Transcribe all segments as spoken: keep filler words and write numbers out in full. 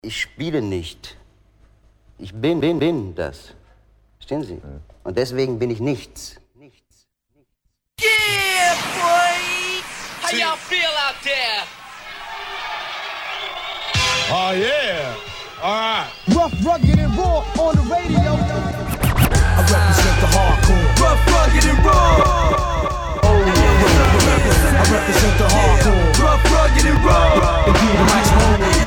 Ich spiele nicht. Ich bin, bin, bin das. Verstehen Sie? Und deswegen bin ich nichts. Nichts. Yeah, boy! How y'all feel out there? Oh, yeah. All right. Rough, rugged, and raw on the radio. I represent the hardcore. Rough, rugged, and raw. Oh, yeah. I represent the hardcore. Rough, rugged, and raw. And give the mic home.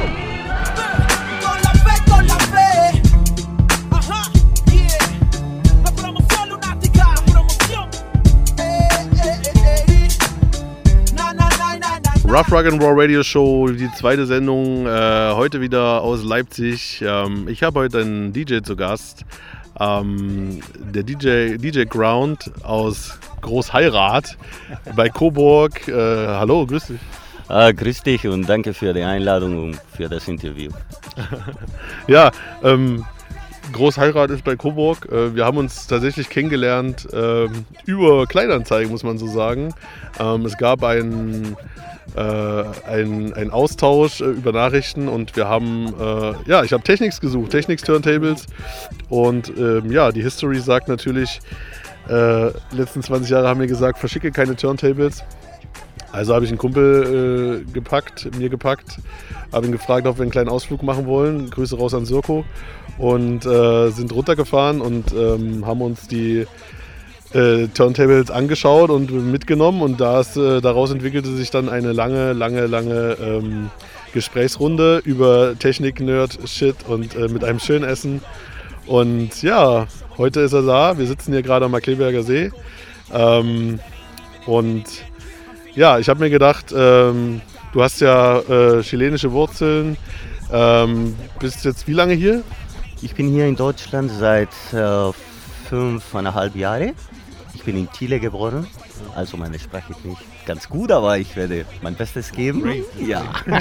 Con la fe, con la fe. Ajá, yeah. La promoción lunática. La promoción. Eh, eh, eh, eh. Na, na, na, na, na. Rough Rug and Raw Radio Show, die zweite Sendung, äh, heute wieder aus Leipzig. Ähm, ich habe heute einen D J zu Gast. Ähm, der D J, D J Ground aus Großheirat bei Coburg. Äh, hallo, grüß dich. Ah, grüß dich und danke für die Einladung und für das Interview. Ja, ähm, Großheirat ist bei Coburg. Äh, wir haben uns tatsächlich kennengelernt äh, über Kleinanzeigen, muss man so sagen. Ähm, es gab einen Äh, ein, ein Austausch äh, über Nachrichten und wir haben, äh, ja, ich habe Technics gesucht, Technics Turntables und ähm, ja, die History sagt natürlich, äh, letzten zwanzig Jahre haben wir gesagt, verschicke keine Turntables. Also habe ich einen Kumpel äh, gepackt, mir gepackt, habe ihn gefragt, ob wir einen kleinen Ausflug machen wollen. Grüße raus an Sirko und äh, sind runtergefahren und ähm, haben uns die Äh, Turntables angeschaut und mitgenommen und das, äh, daraus entwickelte sich dann eine lange, lange, lange ähm, Gesprächsrunde über Technik, Nerd, Shit und äh, mit einem schönen Essen. Und ja, heute ist er da. Wir sitzen hier gerade am Markkleeberger See. Ähm, und ja, ich habe mir gedacht, ähm, du hast ja äh, chilenische Wurzeln. Ähm, bist jetzt wie lange hier? Ich bin hier in Deutschland seit äh, fünfeinhalb Jahren. Ich bin in Chile geboren, also meine Sprache ist nicht ganz gut, aber ich werde mein Bestes geben. Ja.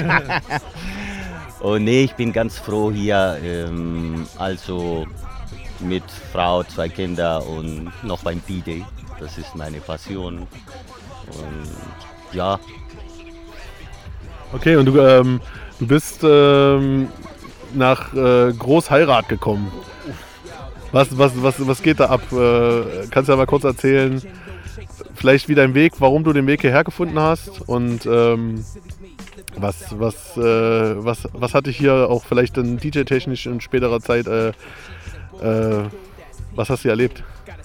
Und nee, ich bin ganz froh hier, ähm, also mit Frau, zwei Kinder und noch beim D J. Das ist meine Passion. Und ja. Okay, und du, ähm, du bist ähm, nach äh, Großheirat gekommen. Was, was, was, was geht da ab? Äh, kannst du ja mal kurz erzählen, vielleicht wie dein Weg, warum du den Weg hierher gefunden hast und ähm, was, was, äh, was, was hat dich hier auch vielleicht dann D J-technisch in späterer Zeit, äh, äh, was hast du erlebt?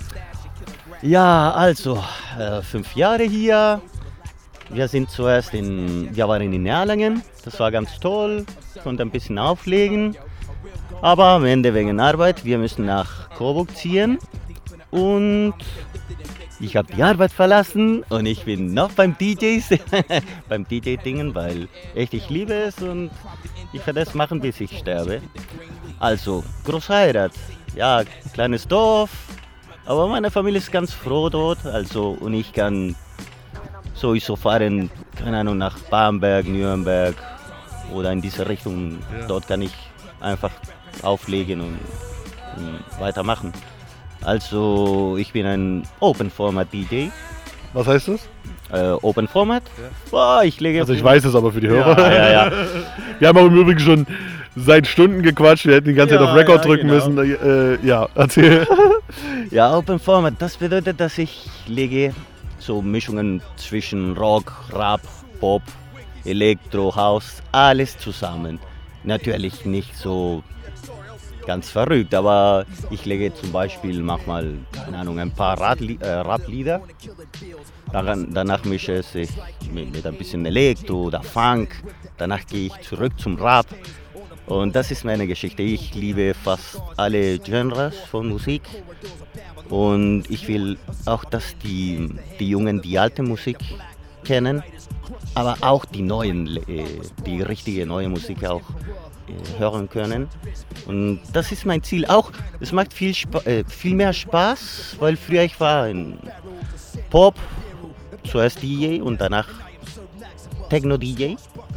Ja, also äh, fünf Jahre hier. Wir sind zuerst in, wir waren in Erlangen, das war ganz toll, konnte ein bisschen auflegen. Aber am Ende wegen Arbeit, wir müssen nach Coburg ziehen und ich habe die Arbeit verlassen und ich bin noch beim D Js, beim D J-Dingen, weil echt ich liebe es und ich werde es machen, bis ich sterbe. Also Großheirat, ja, kleines Dorf, aber meine Familie ist ganz froh dort, also und ich kann sowieso fahren, keine Ahnung, nach Bamberg, Nürnberg oder in diese Richtung, ja. Dort kann ich einfach auflegen und, und weitermachen. Also ich bin ein Open Format D J. Was heißt das? Äh, Open Format? Ja. Boah, ich lege also ich weiß es aber für die Hörer. Ja, ja, ja. Wir haben auch im Übrigen schon seit Stunden gequatscht, wir hätten die ganze Zeit ja, auf Record ja, drücken genau. müssen. Äh, ja, erzähl. Ja, Open Format, das bedeutet, dass ich lege so Mischungen zwischen Rock, Rap, Pop, Elektro, House, alles zusammen. Natürlich nicht so ganz verrückt, aber ich lege zum Beispiel manchmal, keine Ahnung, ein paar Radli- äh, Rap-Lieder. Daran, danach mische ich es mit, mit ein bisschen Elektro oder Funk. Danach gehe ich zurück zum Rap. Und das ist meine Geschichte. Ich liebe fast alle Genres von Musik. Und ich will auch, dass die, die Jungen die alte Musik kennen, aber auch die neuen, die richtige neue Musik auch hören können. Und das ist mein Ziel. Auch, es macht viel, Sp- äh, viel mehr Spaß, weil früher ich war in Pop, zuerst D J und danach Techno-D J.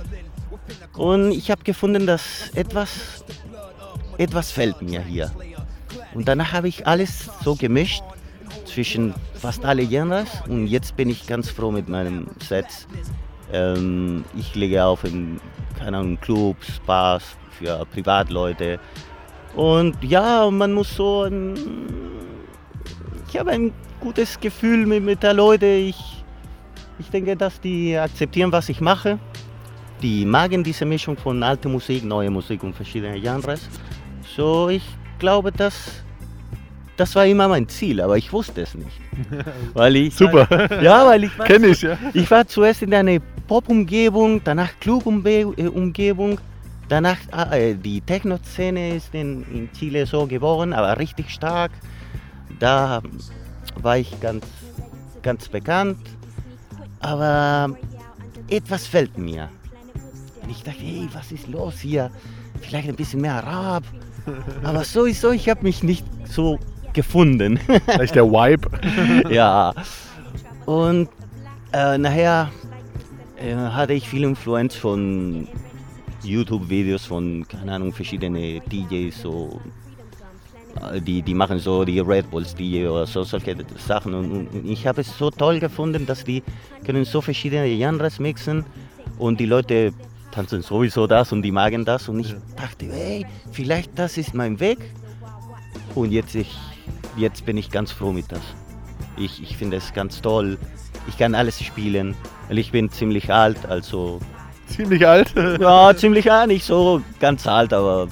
Und ich habe gefunden, dass etwas, etwas fehlt mir hier. Und danach habe ich alles so gemischt zwischen fast alle Genres und jetzt bin ich ganz froh mit meinem Set. Ähm, ich lege auf in keine Ahnung, Clubs, Bars, für Privatleute. Und ja, man muss so ein, ich habe ein gutes Gefühl mit, mit der Leute. Ich, ich denke, dass die akzeptieren, was ich mache. Die mögen diese Mischung von alter Musik, neue Musik und verschiedene Genres. So, ich glaube, dass das war immer mein Ziel, aber ich wusste es nicht. Weil ich, Super. Ja, weil ich war, Kenn ich, ja. Ich war zuerst in einer Pop-Umgebung, danach Club-Umgebung, danach äh, die Techno-Szene ist in, in Chile so geboren, aber richtig stark. Da war ich ganz, ganz bekannt, aber etwas fehlt mir. Und ich dachte, hey, was ist los hier? Vielleicht ein bisschen mehr Rap. Aber sowieso, ich habe mich nicht so gefunden. Vielleicht der Vibe. Ja. Und äh, nachher äh, hatte ich viel Influenz von YouTube-Videos von, keine Ahnung, verschiedene D Js, so, äh, die, die machen so die Red Bulls D J oder so, solche Sachen. Und, und ich habe es so toll gefunden, dass die können so verschiedene Genres mixen und die Leute tanzen sowieso das und die mögen das. Und ich dachte, hey, vielleicht das ist mein Weg. Und jetzt, ich, jetzt bin ich ganz froh mit das. Ich, ich finde es ganz toll. Ich kann alles spielen, weil ich bin ziemlich alt, also... Ziemlich alt? Ja, ziemlich alt, nicht so ganz alt, aber...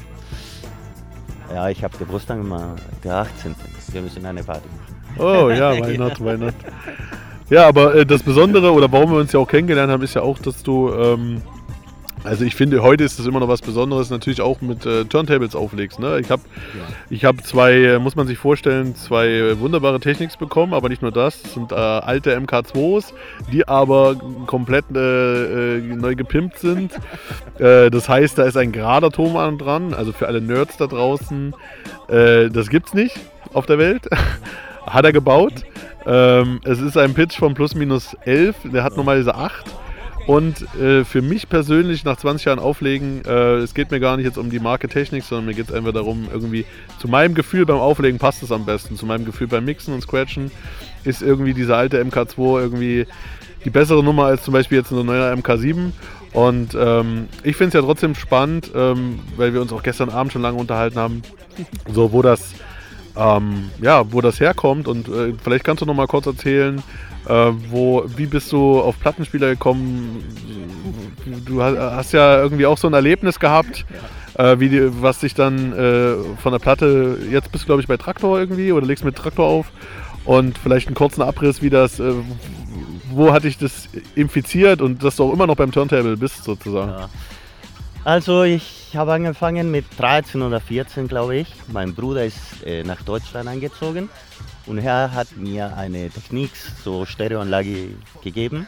Ja, ich habe Geburtstag immer der achtzehnten Wir müssen eine Party machen. Oh ja, why not, why not. Ja, aber äh, das Besondere, oder warum wir uns ja auch kennengelernt haben, ist ja auch, dass du... Ähm, Also ich finde, heute ist das immer noch was Besonderes, natürlich auch mit äh, Turntables auflegst. Ne? Ich habe ja. ich hab zwei, muss man sich vorstellen, zwei wunderbare Techniks bekommen, aber nicht nur das, das sind äh, alte M K zweis, die aber komplett äh, äh, neu gepimpt sind. äh, das heißt, da ist ein gerader Ton dran, also für alle Nerds da draußen, äh, das gibt's nicht auf der Welt. Hat er gebaut. Ähm, es ist ein Pitch von plus minus elf, der hat normalerweise acht. Und äh, für mich persönlich nach zwanzig Jahren Auflegen, äh, es geht mir gar nicht jetzt um die Marke Technik, sondern mir geht es einfach darum, irgendwie zu meinem Gefühl beim Auflegen passt es am besten. Zu meinem Gefühl beim Mixen und Scratchen ist irgendwie diese alte M K zwei irgendwie die bessere Nummer als zum Beispiel jetzt eine neue M K sieben. Und ähm, ich finde es ja trotzdem spannend, ähm, weil wir uns auch gestern Abend schon lange unterhalten haben, so wo das, ähm, ja, wo das herkommt. Und äh, vielleicht kannst du noch mal kurz erzählen, Äh, wo, wie bist du auf Plattenspieler gekommen? Du hast ja irgendwie auch so ein Erlebnis gehabt, äh, wie die, was dich dann äh, von der Platte, jetzt bist du glaube ich bei Traktor irgendwie oder legst mit Traktor auf und vielleicht einen kurzen Abriss, wie das, äh, wo hat dich das infiziert und dass du auch immer noch beim Turntable bist sozusagen. Ja. Also ich habe angefangen mit dreizehn oder vierzehn glaube ich. Mein Bruder ist äh, nach Deutschland eingezogen. Und er hat mir eine Technik, so Stereoanlage gegeben.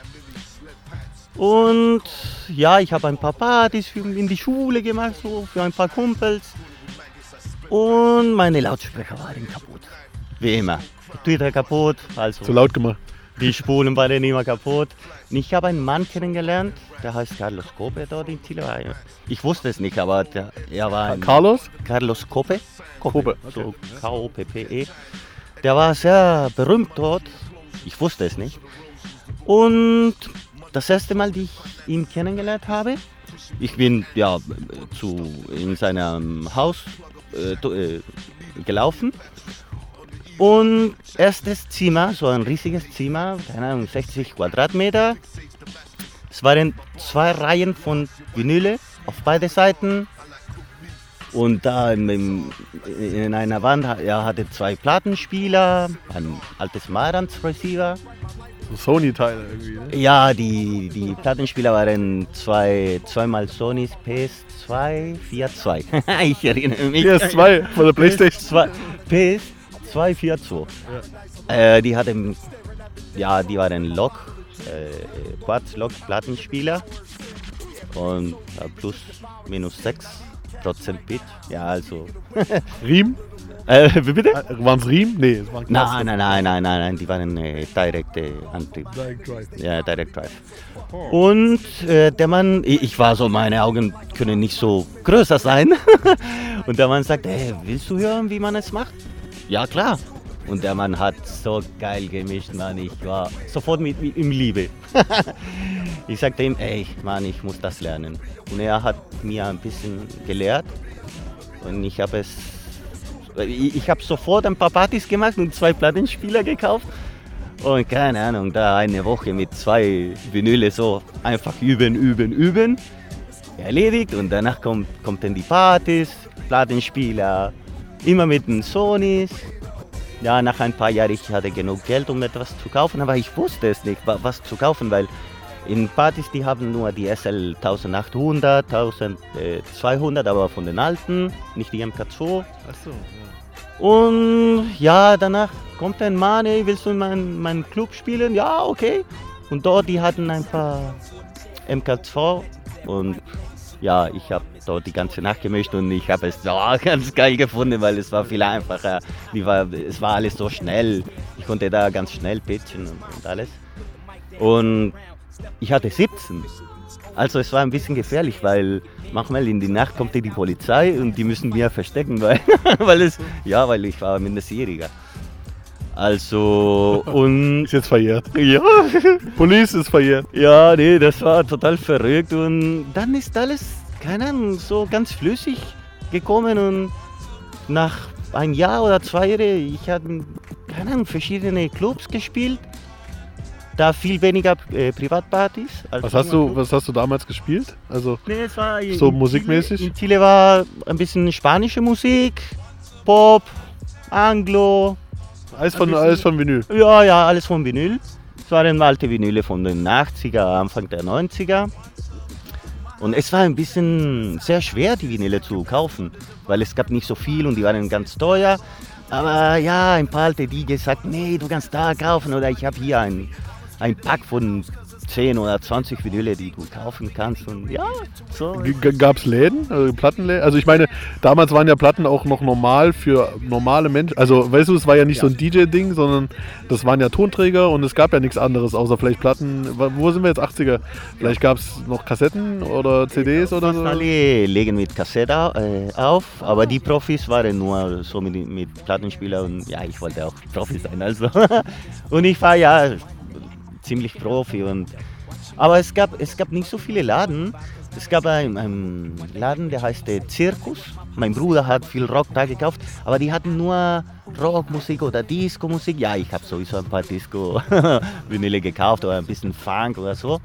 Und ja, ich habe ein paar Partys in die Schule gemacht, so für ein paar Kumpels. Und meine Lautsprecher waren kaputt. Wie immer. Twitter kaputt. Also zu laut gemacht. Die Spulen waren immer kaputt. Und ich habe einen Mann kennengelernt, der heißt Carlos Cope dort in Chile. Ich wusste es nicht, aber der, er war ein Carlos? Carlos Cope. Cope. So okay. K O P P E. Der war sehr berühmt dort, ich wusste es nicht. Und das erste Mal, dass ich ihn kennengelernt habe, ich bin ja zu, in seinem Haus äh, gelaufen. Und erstes Zimmer, so ein riesiges Zimmer, keine Ahnung, sechzig Quadratmeter. Es waren zwei Reihen von Vinyle auf beide Seiten. Und da in, in einer Wand, er hatte zwei Plattenspieler, ein altes Marantz Receiver. So Sony-Teile irgendwie, ne? Ja, die, die Plattenspieler waren zwei, zweimal Sonys P S zwei vier zwei. Ich erinnere mich. P S zwei von der Playstation. P S zwei vier zwei. Ja. Äh, die hatten, ja, die waren Lok, äh, Quartz-Lok-Plattenspieler und äh, plus minus sechs. Prozent Bit, ja also. Riem? Äh, wie bitte? Waren es Riem? Nee, es waren Nein, nein, nein, nein, nein, nein, die waren äh, Direct äh, Antrieb. Direct Drive. Ja, Direct Drive. Und äh, der Mann, ich war so, meine Augen können nicht so größer sein. Und der Mann sagt, hey, willst du hören, wie man es macht? Ja, klar. Und der Mann hat so geil gemischt, Mann. Ich war sofort mit, mit ihm Liebe. Ich sagte ihm, ey, Mann, ich muss das lernen. Und er hat mir ein bisschen gelehrt. Und ich habe es, ich, ich habe sofort ein paar Partys gemacht und zwei Plattenspieler gekauft. Und keine Ahnung, da eine Woche mit zwei Vinyle so einfach üben, üben, üben. Erledigt und danach kommt, kommt dann die Partys, Plattenspieler, immer mit den Sonys. Ja, nach ein paar Jahren, ich hatte genug Geld, um etwas zu kaufen, aber ich wusste es nicht, was zu kaufen, weil in Partys, die haben nur die S L eintausendachthundert, eintausendzweihundert, aber von den alten, nicht die M K zwei. Ach so, ja. Und ja, danach kommt ein Mann, ey, willst du in meinen mein Club spielen? Ja, okay. Und dort, die hatten ein paar M K zwei und ja, ich habe dort die ganze Nacht gemischt und ich habe es so ganz geil gefunden, weil es war viel einfacher. Die war, es war alles so schnell. Ich konnte da ganz schnell pitchen und, und alles. Und ich hatte siebzehn. Also es war ein bisschen gefährlich, weil manchmal in die Nacht kommt die Polizei und die müssen mir verstecken, weil, weil es, ja, weil ich war Minderjähriger. Also, und... Ist jetzt verjährt. Ja. Police ist verjährt. Ja, nee, das war total verrückt und dann ist alles, keine Ahnung, so ganz flüssig gekommen und nach ein Jahr oder zwei Jahren, ich habe, keine Ahnung, verschiedene Clubs gespielt, da viel weniger äh, Privatpartys. Als Was hast, du, was hast du damals gespielt? Also nee, es war so in musikmäßig? Chile, in Chile war ein bisschen spanische Musik, Pop, Anglo. Alles von, alles von Vinyl? Ja, ja, alles von Vinyl. Es waren alte Vinyle von den achtziger, Anfang der neunziger. Und es war ein bisschen sehr schwer, die Vinyle zu kaufen, weil es gab nicht so viel und die waren ganz teuer. Aber ja, ein paar alte D Js sagten, nee, du kannst da kaufen oder ich habe hier ein, ein Pack von zehn oder zwanzig Vinyle, die du kaufen kannst. Und ja, so. Gab es Läden, also Plattenläden? Also ich meine, damals waren ja Platten auch noch normal für normale Menschen. Also weißt du, es war ja nicht Ja. so ein D J-Ding, sondern das waren ja Tonträger und es gab ja nichts anderes, außer vielleicht Platten. Wo sind wir jetzt, achtziger? Vielleicht gab es noch Kassetten oder C Ds oder so? Alle legen mit Kassette äh, auf, aber die Profis waren nur so mit, mit Plattenspieler und ja, ich wollte auch Profi sein. Also. Und ich war ja ziemlich Profi. Und, aber es gab, es gab nicht so viele Laden. Es gab einen, einen Laden, der heißt Zirkus. Mein Bruder hat viel Rock da gekauft, aber die hatten nur Rockmusik oder Disco-Musik. Ja, ich habe sowieso ein paar Disco-Vinyle gekauft oder ein bisschen Funk oder so.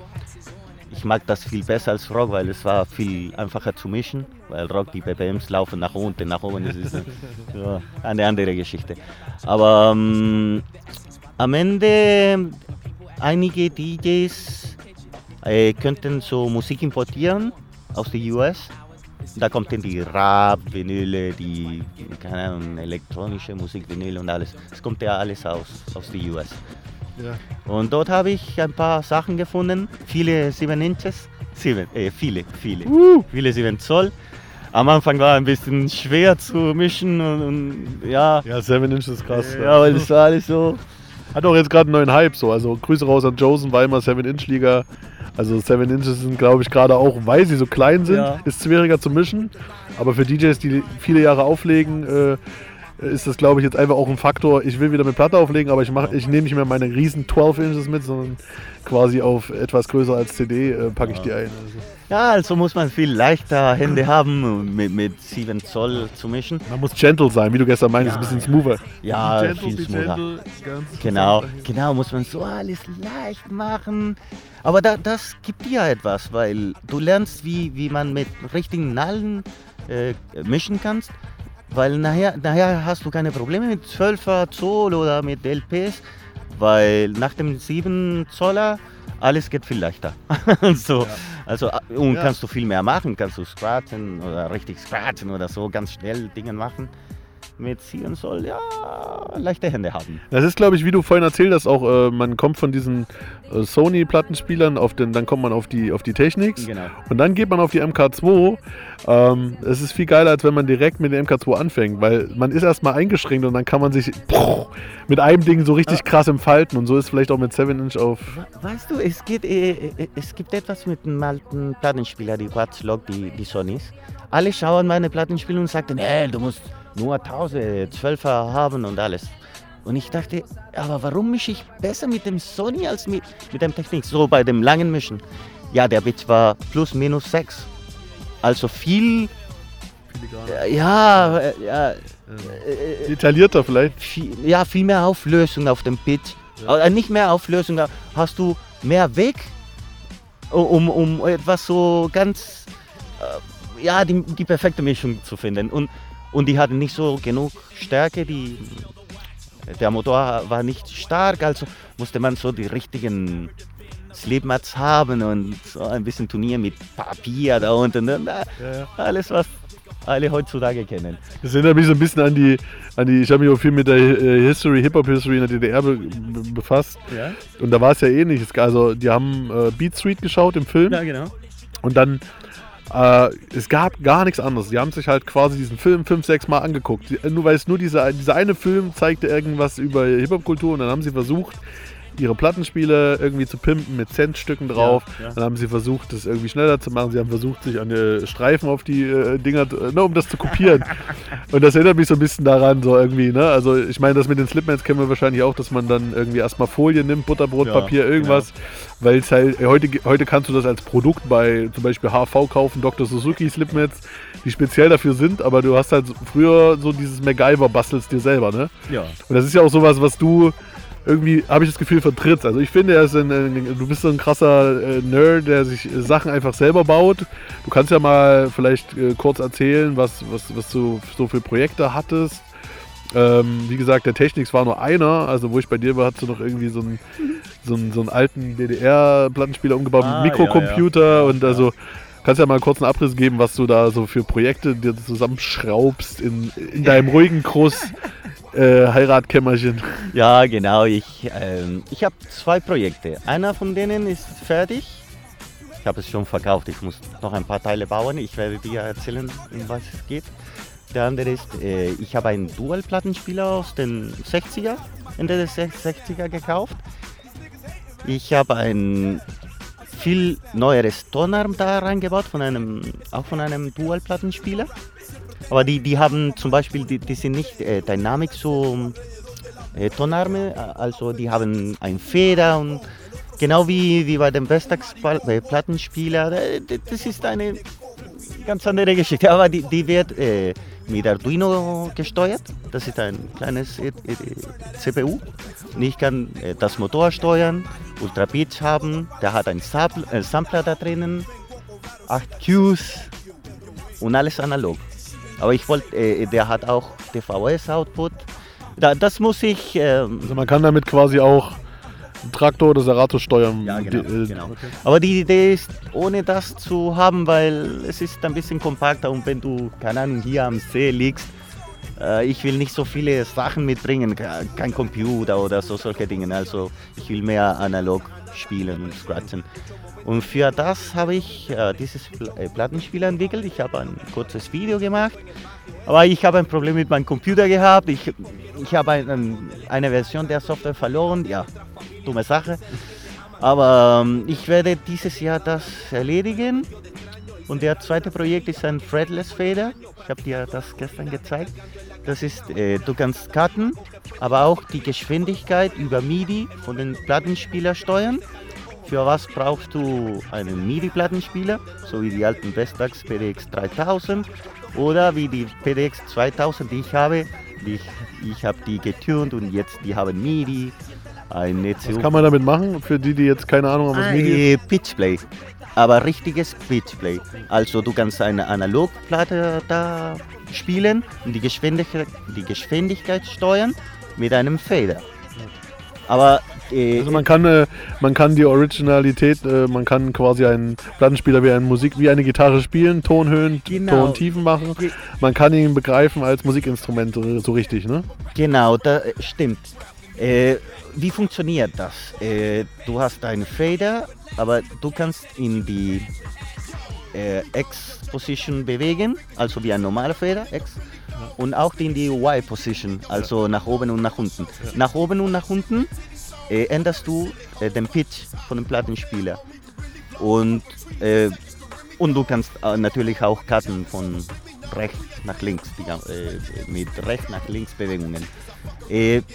Ich mag das viel besser als Rock, weil es war viel einfacher zu mischen. Weil Rock, die B P Ms laufen nach unten, nach oben, das ist ja, eine andere Geschichte. Aber ähm, am Ende, einige D Js äh, könnten so Musik importieren aus den U S. Da kommt dann die Rap, Vinyle, die, keine Ahnung, elektronische Musik, Vinyl und alles. Es kommt ja alles aus, aus den U S. Ja. Und dort habe ich ein paar Sachen gefunden, viele sieben Inches, sieben, äh, viele, viele, Uh. viele sieben Zoll. Am Anfang war ein bisschen schwer zu mischen und, und ja, Ja, Seven Inch ist krass. ja, weil das war alles so. Hat auch jetzt gerade einen neuen Hype so. Also Grüße raus an Josen, Weimar, Seven Inch Liga. Also Seven Inches sind, glaube ich, gerade auch, weil sie so klein sind, Ja. ist schwieriger zu mischen. Aber für D Js, die viele Jahre auflegen, äh, ist das, glaube ich, jetzt einfach auch ein Faktor. Ich will wieder mit Platte auflegen, aber ich, mach, ich nehme nicht mehr meine riesen zwölf Inches mit, sondern quasi auf etwas größer als C D äh, packe ich die ein. Also. Ja, also muss man viel leichter Hände haben, um mit, mit sieben Zoll zu mischen. Man muss gentle sein, wie du gestern meintest, Ja, ein bisschen smoother. Ja, Gentle, viel be smoother. gentle, ganz Genau, sanft. genau, muss man so alles leicht machen. Aber da, das gibt dir etwas, weil du lernst, wie, wie man mit richtigen Nadeln äh, mischen kannst. Weil nachher, nachher hast du keine Probleme mit zwölfer Zoll oder mit L Ps, weil nach dem sieben Zoller alles geht viel leichter. so, also, und Ja. kannst du viel mehr machen, kannst du scratchen oder richtig scratchen oder so, ganz schnell Dinge machen. Mit sieben Zoll, ja, leichte Hände haben. Das ist, glaube ich, wie du vorhin erzählt hast, auch äh, man kommt von diesen äh, Sony-Plattenspielern, auf den, dann kommt man auf die, auf die Technics Genau. und dann geht man auf die M K zwei. Ähm, es ist viel geiler, als wenn man direkt mit der M K zwei anfängt, weil man ist erstmal eingeschränkt und dann kann man sich mit einem Ding so richtig krass entfalten und so ist vielleicht auch mit seven Inch auf... Weißt du, es, geht, äh, äh, es gibt etwas mit dem alten Plattenspieler, die Watchlog, die, die Sonys. Alle schauen meine Plattenspieler und sagen, hey, du musst nur tausendzwölfer haben und alles. Und ich dachte, aber warum mische ich besser mit dem Sony als mit, mit dem Technik? So bei dem langen Mischen. Ja, der Pitch war plus minus sechs. Also viel, äh, ja, äh, ja, äh, Detaillierter vielleicht. viel, ja, viel mehr Auflösung auf dem Pitch. Ja. Äh, nicht mehr Auflösung, da hast du mehr Weg, um, um etwas so ganz, äh, ja, die, die perfekte Mischung zu finden. Und, und die hatten nicht so genug Stärke, die, der Motor war nicht stark, also musste man so die richtigen Slipmats haben und so ein bisschen Turnier mit Papier da unten. Und, ja, ja. Alles, was alle heutzutage kennen. Das erinnert mich so ein bisschen an die, an die ich habe mich auch viel mit der History, Hip-Hop-History in der D D R be befasst. Ja. Und da war es ja ähnlich. Also die haben äh, Beat Street geschaut im Film. Ja, genau. Und dann, äh, es gab gar nichts anderes. Die haben sich halt quasi diesen Film fünf, sechs Mal angeguckt. Die, nur weil es nur dieser, dieser eine Film zeigte irgendwas über Hip-Hop-Kultur und dann haben sie versucht, ihre Plattenspiele irgendwie zu pimpen mit Centstücken drauf. Ja, ja. Dann haben sie versucht, das irgendwie schneller zu machen. Sie haben versucht, sich an die Streifen auf die äh, Dinger, ne, um das zu kopieren. Und das erinnert mich so ein bisschen daran, so irgendwie, ne? Also ich meine, das mit den Slipmats kennen wir wahrscheinlich auch, dass man dann irgendwie erstmal Folie nimmt, Butterbrotpapier, ja, irgendwas. Genau. Weil es halt, heute, heute kannst du das als Produkt bei zum Beispiel H V kaufen, Doktor Suzuki Slipmats, die speziell dafür sind, aber du hast halt früher so dieses MacGyver bastelst dir selber, ne? Ja. Und das ist ja auch sowas, was du irgendwie, habe ich das Gefühl, vertrittst. Also ich finde, er ist ein, ein, du bist so ein krasser äh, Nerd, der sich äh, Sachen einfach selber baut. Du kannst ja mal vielleicht äh, kurz erzählen, was, was, was du so für Projekte hattest. Ähm, wie gesagt, der Technics war nur einer, also wo ich bei dir war, hast du noch irgendwie so einen, so einen, so einen alten D D R-Plattenspieler umgebaut ah, mit Mikrocomputer ja, ja. und also kannst ja mal kurz einen Abriss geben, was du da so für Projekte dir zusammenschraubst in, in deinem ruhigen Kruss äh, Heiratkämmerchen. Ja, genau, ich, ähm, ich habe zwei Projekte. Einer von denen ist fertig. Ich habe es schon verkauft, ich muss noch ein paar Teile bauen. Ich werde dir erzählen, um was es geht. Der andere ist, äh, ich habe einen Dual-Plattenspieler aus den sechziger, Ende der sechziger gekauft. Ich habe ein viel neueres Tonarm da reingebaut, von einem, auch von einem Dual-Plattenspieler. Aber die, die haben zum Beispiel, die, die sind nicht äh, dynamic so äh, Tonarme, also die haben ein Feder und genau wie, wie bei dem Vestax-Plattenspieler, das ist eine ganz andere Geschichte. Aber die, die wird äh, mit Arduino gesteuert. Das ist ein kleines äh, C P U. Und ich kann äh, das Motor steuern, Ultra Pitch haben. Der hat einen Sampler, äh, Sampler da drinnen, acht Qs und alles analog. Aber ich wollte, äh, der hat auch D V S-Output. Da, das muss ich. Ähm, also man kann damit quasi auch einen Traktor oder Serato steuern. Ja, genau. Die, äh, genau. Okay. Aber die Idee ist, ohne das zu haben, weil es ist ein bisschen kompakter und wenn du, keine Ahnung, hier am See liegst, äh, ich will nicht so viele Sachen mitbringen, kein Computer oder so solche Dinge. Also ich will mehr analog spielen und scratchen. Und für das habe ich äh, dieses Plattenspiel entwickelt. Ich habe ein kurzes Video gemacht, aber ich habe ein Problem mit meinem Computer gehabt. Ich, ich habe ein, eine Version der Software verloren. Ja, dumme Sache. Aber ähm, ich werde dieses Jahr das erledigen. Und der zweite Projekt ist ein Fretless Fader. Ich habe dir das gestern gezeigt. Das ist, äh, du kannst cutten, aber auch die Geschwindigkeit über MIDI von den Plattenspieler steuern. Für was brauchst du einen MIDI-Plattenspieler, so wie die alten Vestax P D X dreitausend oder wie die P D X zweitausend, die ich habe. Die ich ich habe die getunt und jetzt die haben MIDI, ein E C U. Was kann man damit machen, für die, die jetzt keine Ahnung haben, was MIDI ist? Pitchplay, aber richtiges Pitchplay. Also du kannst eine Analogplatte da spielen und die Geschwindigkeit, die Geschwindigkeit steuern mit einem Fader. Aber äh, also man kann, äh, man kann die Originalität, äh, man kann quasi einen Plattenspieler wie eine Musik, wie eine Gitarre spielen, Tonhöhen, genau. Tontiefen machen. Man kann ihn begreifen als Musikinstrument, so richtig, ne? Genau, das stimmt. Äh, wie funktioniert das? Äh, du hast einen Fader, aber du kannst in die äh, X-Position bewegen, also wie ein normaler Fader, X. Und auch in die Y-Position, also nach oben und nach unten. Nach oben und nach unten äh, änderst du äh, den Pitch von dem Plattenspieler. Und, äh, und du kannst äh, natürlich auch cutten von rechts nach links, die, äh, mit rechts nach links Bewegungen. Äh,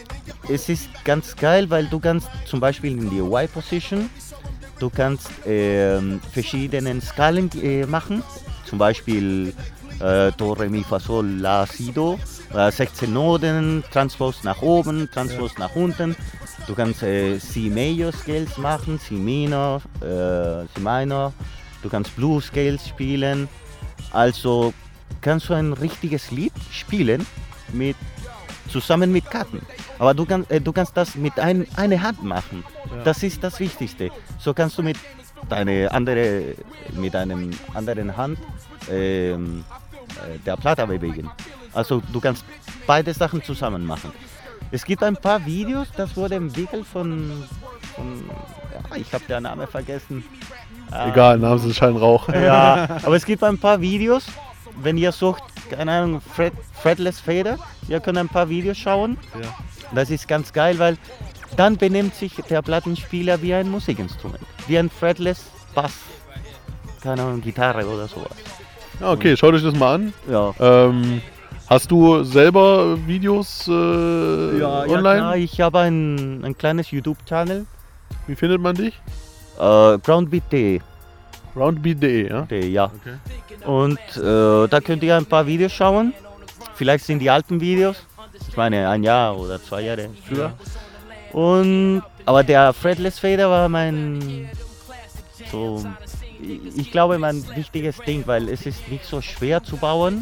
es ist ganz geil, weil du kannst zum Beispiel in die Y-Position, du kannst ähm, verschiedene Skalen äh, machen, zum Beispiel äh, Do, Re, Mi, Fa, Sol, La, Si, Do, äh, sechzehn Noten, Transpose nach oben, Transpose ja. nach unten. Du kannst äh, C Major Scales machen, C Minor, äh, C Minor, du kannst Blues Scales spielen, also kannst du ein richtiges Lied spielen mit, zusammen mit Karten. Aber du, kann, äh, du kannst das mit ein, einer Hand machen. Ja. Das ist das Wichtigste. So kannst du mit deiner andere, mit einem anderen Hand ähm, äh, der Platte bewegen. Also du kannst beide Sachen zusammen machen. Es gibt ein paar Videos, das wurde entwickelt von, von ja, ich habe den Namen vergessen. Egal, Namen sind Scheinrauch. Ja, aber es gibt ein paar Videos. Wenn ihr sucht, keine Ahnung, Fret, Fretless Fader, ihr könnt ein paar Videos schauen. Ja. Das ist ganz geil, weil dann benimmt sich der Plattenspieler wie ein Musikinstrument. Wie ein Fretless Bass, keine Ahnung, Gitarre oder sowas. Ja, okay, schaut euch das mal an. Ja. Ähm, hast du selber Videos äh, ja, online? Ja, klar, ich habe ein, ein kleines YouTube-Channel. Wie findet man dich? Äh, groundbeat punkt de. groundbeat punkt de, ja? De, ja. Okay. Und äh, da könnt ihr ein paar Videos schauen. Vielleicht sind die alten Videos. Ich meine, ein Jahr oder zwei Jahre früher. Ja. Und, aber der Fretless Fader war mein, so, ich glaube, mein wichtiges Ding, weil es ist nicht so schwer zu bauen.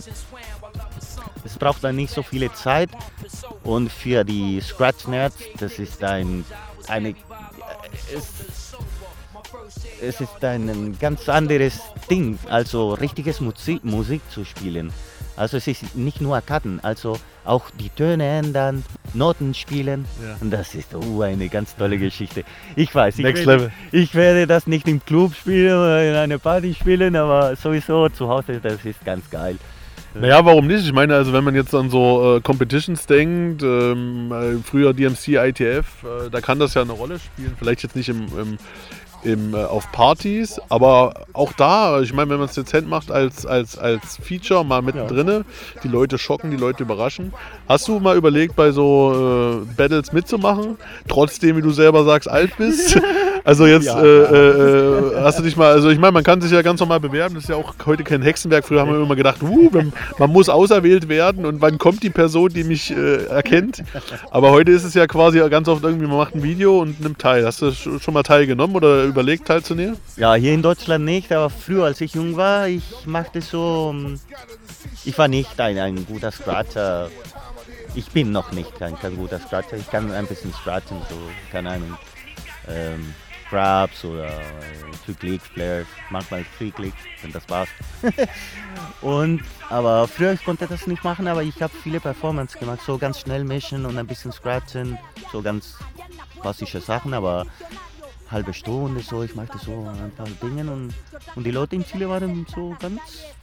Es braucht dann nicht so viele Zeit. Und für die Scratch-Nerds, das ist ein, eine, es, es ist ein ganz anderes Ding, also richtiges Musik, Musik zu spielen. Also es ist nicht nur Karten, also auch die Töne ändern, Noten spielen. Ja. Und das ist oh, eine ganz tolle Geschichte. Ich weiß, ich Next werde, Level. ich werde das nicht im Club spielen oder in einer Party spielen, aber sowieso zu Hause, das ist ganz geil. Naja, warum nicht? Ich meine, also wenn man jetzt an so äh, Competitions denkt, ähm, äh, früher D M C, I T F, äh, da kann das ja eine Rolle spielen. Vielleicht jetzt nicht im, im, im, äh, auf Partys, aber auch da, ich meine, wenn man es dezent macht als, als, als Feature mal mittendrin, ja. Die Leute schocken, die Leute überraschen. Hast du mal überlegt, bei so äh, Battles mitzumachen, trotzdem, wie du selber sagst, alt bist? Also jetzt ja, äh, äh, hast du dich mal, also ich meine, man kann sich ja ganz normal bewerben, das ist ja auch heute kein Hexenwerk. Früher haben wir immer gedacht, uh, man, man muss auserwählt werden und wann kommt die Person, die mich äh, erkennt. Aber heute ist es ja quasi ganz oft irgendwie, man macht ein Video und nimmt teil. Hast du schon mal teilgenommen oder überlegt teilzunehmen? Ja, hier in Deutschland nicht, aber früher, als ich jung war, ich machte so, ich war nicht ein, ein guter Scratcher. Ich bin noch nicht kein, kein guter Scratcher, ich kann ein bisschen scratchen, so, keine Ahnung. Ähm, Grabs oder Two Clicks, Flares, manchmal Three Clicks und das war's. Und, aber früher ich konnte das nicht machen, aber ich habe viele Performance gemacht, so ganz schnell mischen und ein bisschen scratchen, so ganz klassische Sachen, aber halbe Stunde so, ich machte so ein paar Dinge und, und die Leute in Chile waren so ganz,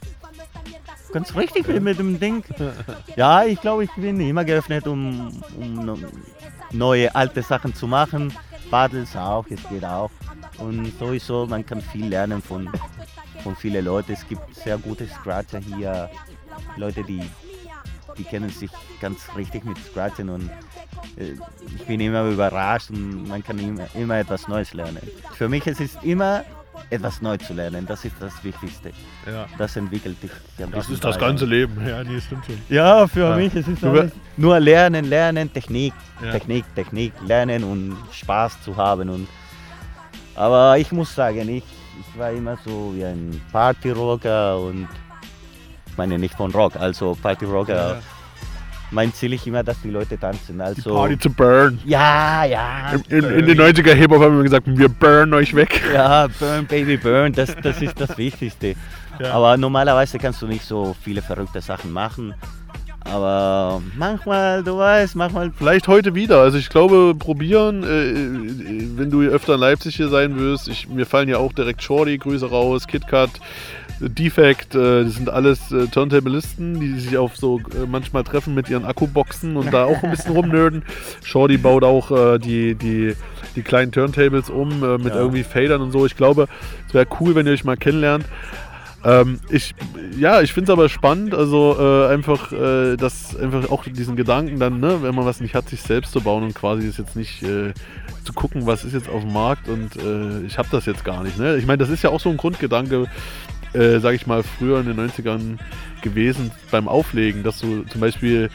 ganz richtig mit, mit dem Ding. Ja, ich glaube, ich bin immer geöffnet, um, um neue, alte Sachen zu machen. Battles auch, es geht auch. Und sowieso, man kann viel lernen von, von vielen Leuten. Es gibt sehr gute Scratcher hier, Leute, die, die kennen sich ganz richtig mit Scratchen und äh, ich bin immer überrascht und man kann immer, immer etwas Neues lernen. Für mich ist es immer etwas Neues zu lernen, das ist das Wichtigste. Ja. Das entwickelt dich. Das ist das ganze Leben, ja, die stimmt schon. Ja, für ja. mich ist es alles nur Lernen, Lernen, Technik, ja. Technik, Technik, Lernen und Spaß zu haben. Und, aber ich muss sagen, ich, ich war immer so wie ein Partyrocker und ich meine nicht von Rock, also Partyrocker. Ja. Mein Ziel ist immer, dass die Leute tanzen. Also, die Party to burn. Ja, ja. In, in, in den neunziger Hip-Hop haben wir gesagt, wir burn euch weg. Ja, burn, baby, burn, das, das ist das Wichtigste. Ja. Aber normalerweise kannst du nicht so viele verrückte Sachen machen. Aber manchmal, du weißt, manchmal... Vielleicht heute wieder. Also ich glaube, probieren, äh, wenn du öfter in Leipzig hier sein wirst. Ich, mir fallen ja auch direkt Shorty, Grüße raus, KitKat, Defect, äh, das sind alles äh, Turntablisten, die sich auf so äh, manchmal treffen mit ihren Akkuboxen und da auch ein bisschen rumnörden. Shorty baut auch äh, die, die, die kleinen Turntables um äh, mit ja. irgendwie Fadern und so. Ich glaube, es wäre cool, wenn ihr euch mal kennenlernt. Ähm, ich, ja, ich finde es aber spannend, also äh, einfach, äh, dass einfach auch diesen Gedanken dann, ne, wenn man was nicht hat, sich selbst zu bauen und quasi ist jetzt nicht äh, zu gucken, was ist jetzt auf dem Markt und äh, ich habe das jetzt gar nicht. Ne? Ich meine, das ist ja auch so ein Grundgedanke, äh, sage ich mal, früher in den neunzigern gewesen beim Auflegen, dass du zum Beispiel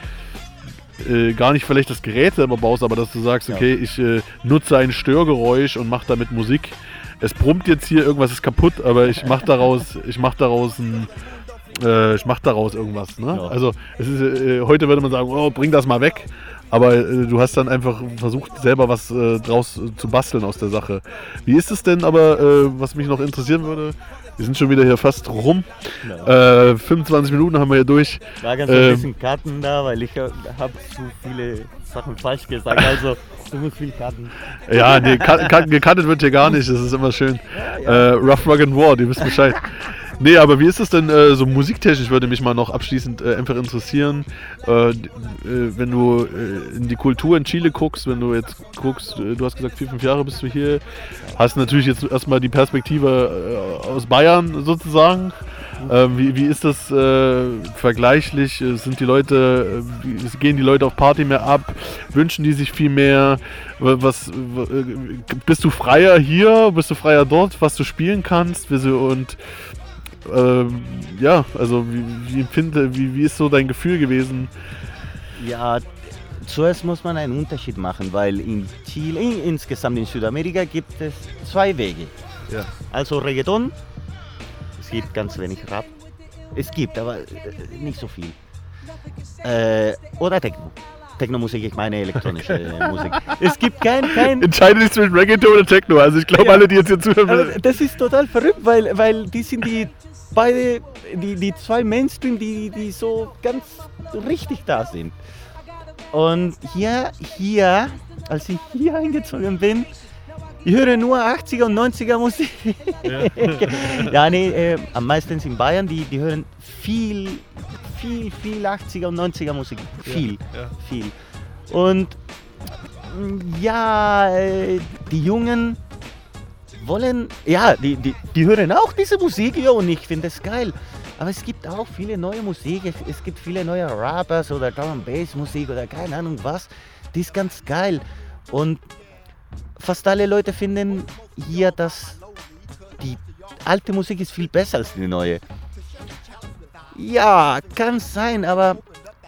äh, gar nicht vielleicht das Gerät selber baust, aber dass du sagst, okay, ich äh, nutze ein Störgeräusch und mache damit Musik. Es brummt jetzt hier, irgendwas ist kaputt, aber ich mache daraus, ich mache daraus ein, äh, ich mache daraus irgendwas. Ne? Ja. Also es ist, äh, heute würde man sagen, oh, bring das mal weg. Aber äh, du hast dann einfach versucht, selber was äh, draus äh, zu basteln aus der Sache. Wie ist es denn aber, äh, was mich noch interessieren würde, wir sind schon wieder hier fast rum. Ja. Äh, fünfundzwanzig Minuten haben wir hier durch. Da ganz ähm, ein bisschen Karten da, weil ich habe zu viele Sachen falsch gesagt. Also du musst viel Karten. Ja, nee, gekartet wird hier gar nicht. Das ist immer schön. Ja, ja. Äh, Rough, Rug and War, die wissen Bescheid. Nee, aber wie ist es denn äh, so musiktechnisch, würde mich mal noch abschließend äh, einfach interessieren, äh, äh, wenn du äh, in die Kultur in Chile guckst, wenn du jetzt guckst, äh, du hast gesagt, vier, fünf Jahre bist du hier, hast natürlich jetzt erstmal die Perspektive äh, aus Bayern sozusagen. Äh, wie, wie ist das äh, vergleichlich? Sind die Leute, äh, wie, gehen die Leute auf Party mehr ab? Wünschen die sich viel mehr? Was, w- bist du freier hier? Bist du freier dort, was du spielen kannst? Und Ähm, ja, also wie, wie, empfinde, wie, wie ist so dein Gefühl gewesen? Ja, zuerst muss man einen Unterschied machen, weil in Chile, in, insgesamt in Südamerika gibt es zwei Wege. Ja. Also Reggaeton, es gibt ganz wenig Rap, es gibt, aber äh, nicht so viel. Äh, oder Techno. Techno-Musik, ich meine elektronische Musik. Es gibt kein... kein Entscheide dich zwischen Reggaeton oder Techno. Also ich glaube, ja, alle, die jetzt hier zuhören... Also das ist total verrückt, weil, weil die sind die beide, die, die zwei Mainstream, die, die so ganz richtig da sind. Und hier, hier, als ich hier eingezogen bin, ich höre nur achtziger und neunziger Musik. Ja, ja nee, äh, am meisten in Bayern, die, die hören viel, viel, viel achtziger und neunziger Musik. Viel, ja, ja. viel. Und ja, äh, die Jungen wollen, ja, die, die, die hören auch diese Musik, ja, und ich finde es geil. Aber es gibt auch viele neue Musik, es, es gibt viele neue Rappers oder Drum and Bass Musik oder keine Ahnung was. Die ist ganz geil. Und fast alle Leute finden hier, dass die alte Musik ist viel besser als die neue. Ja, kann sein, aber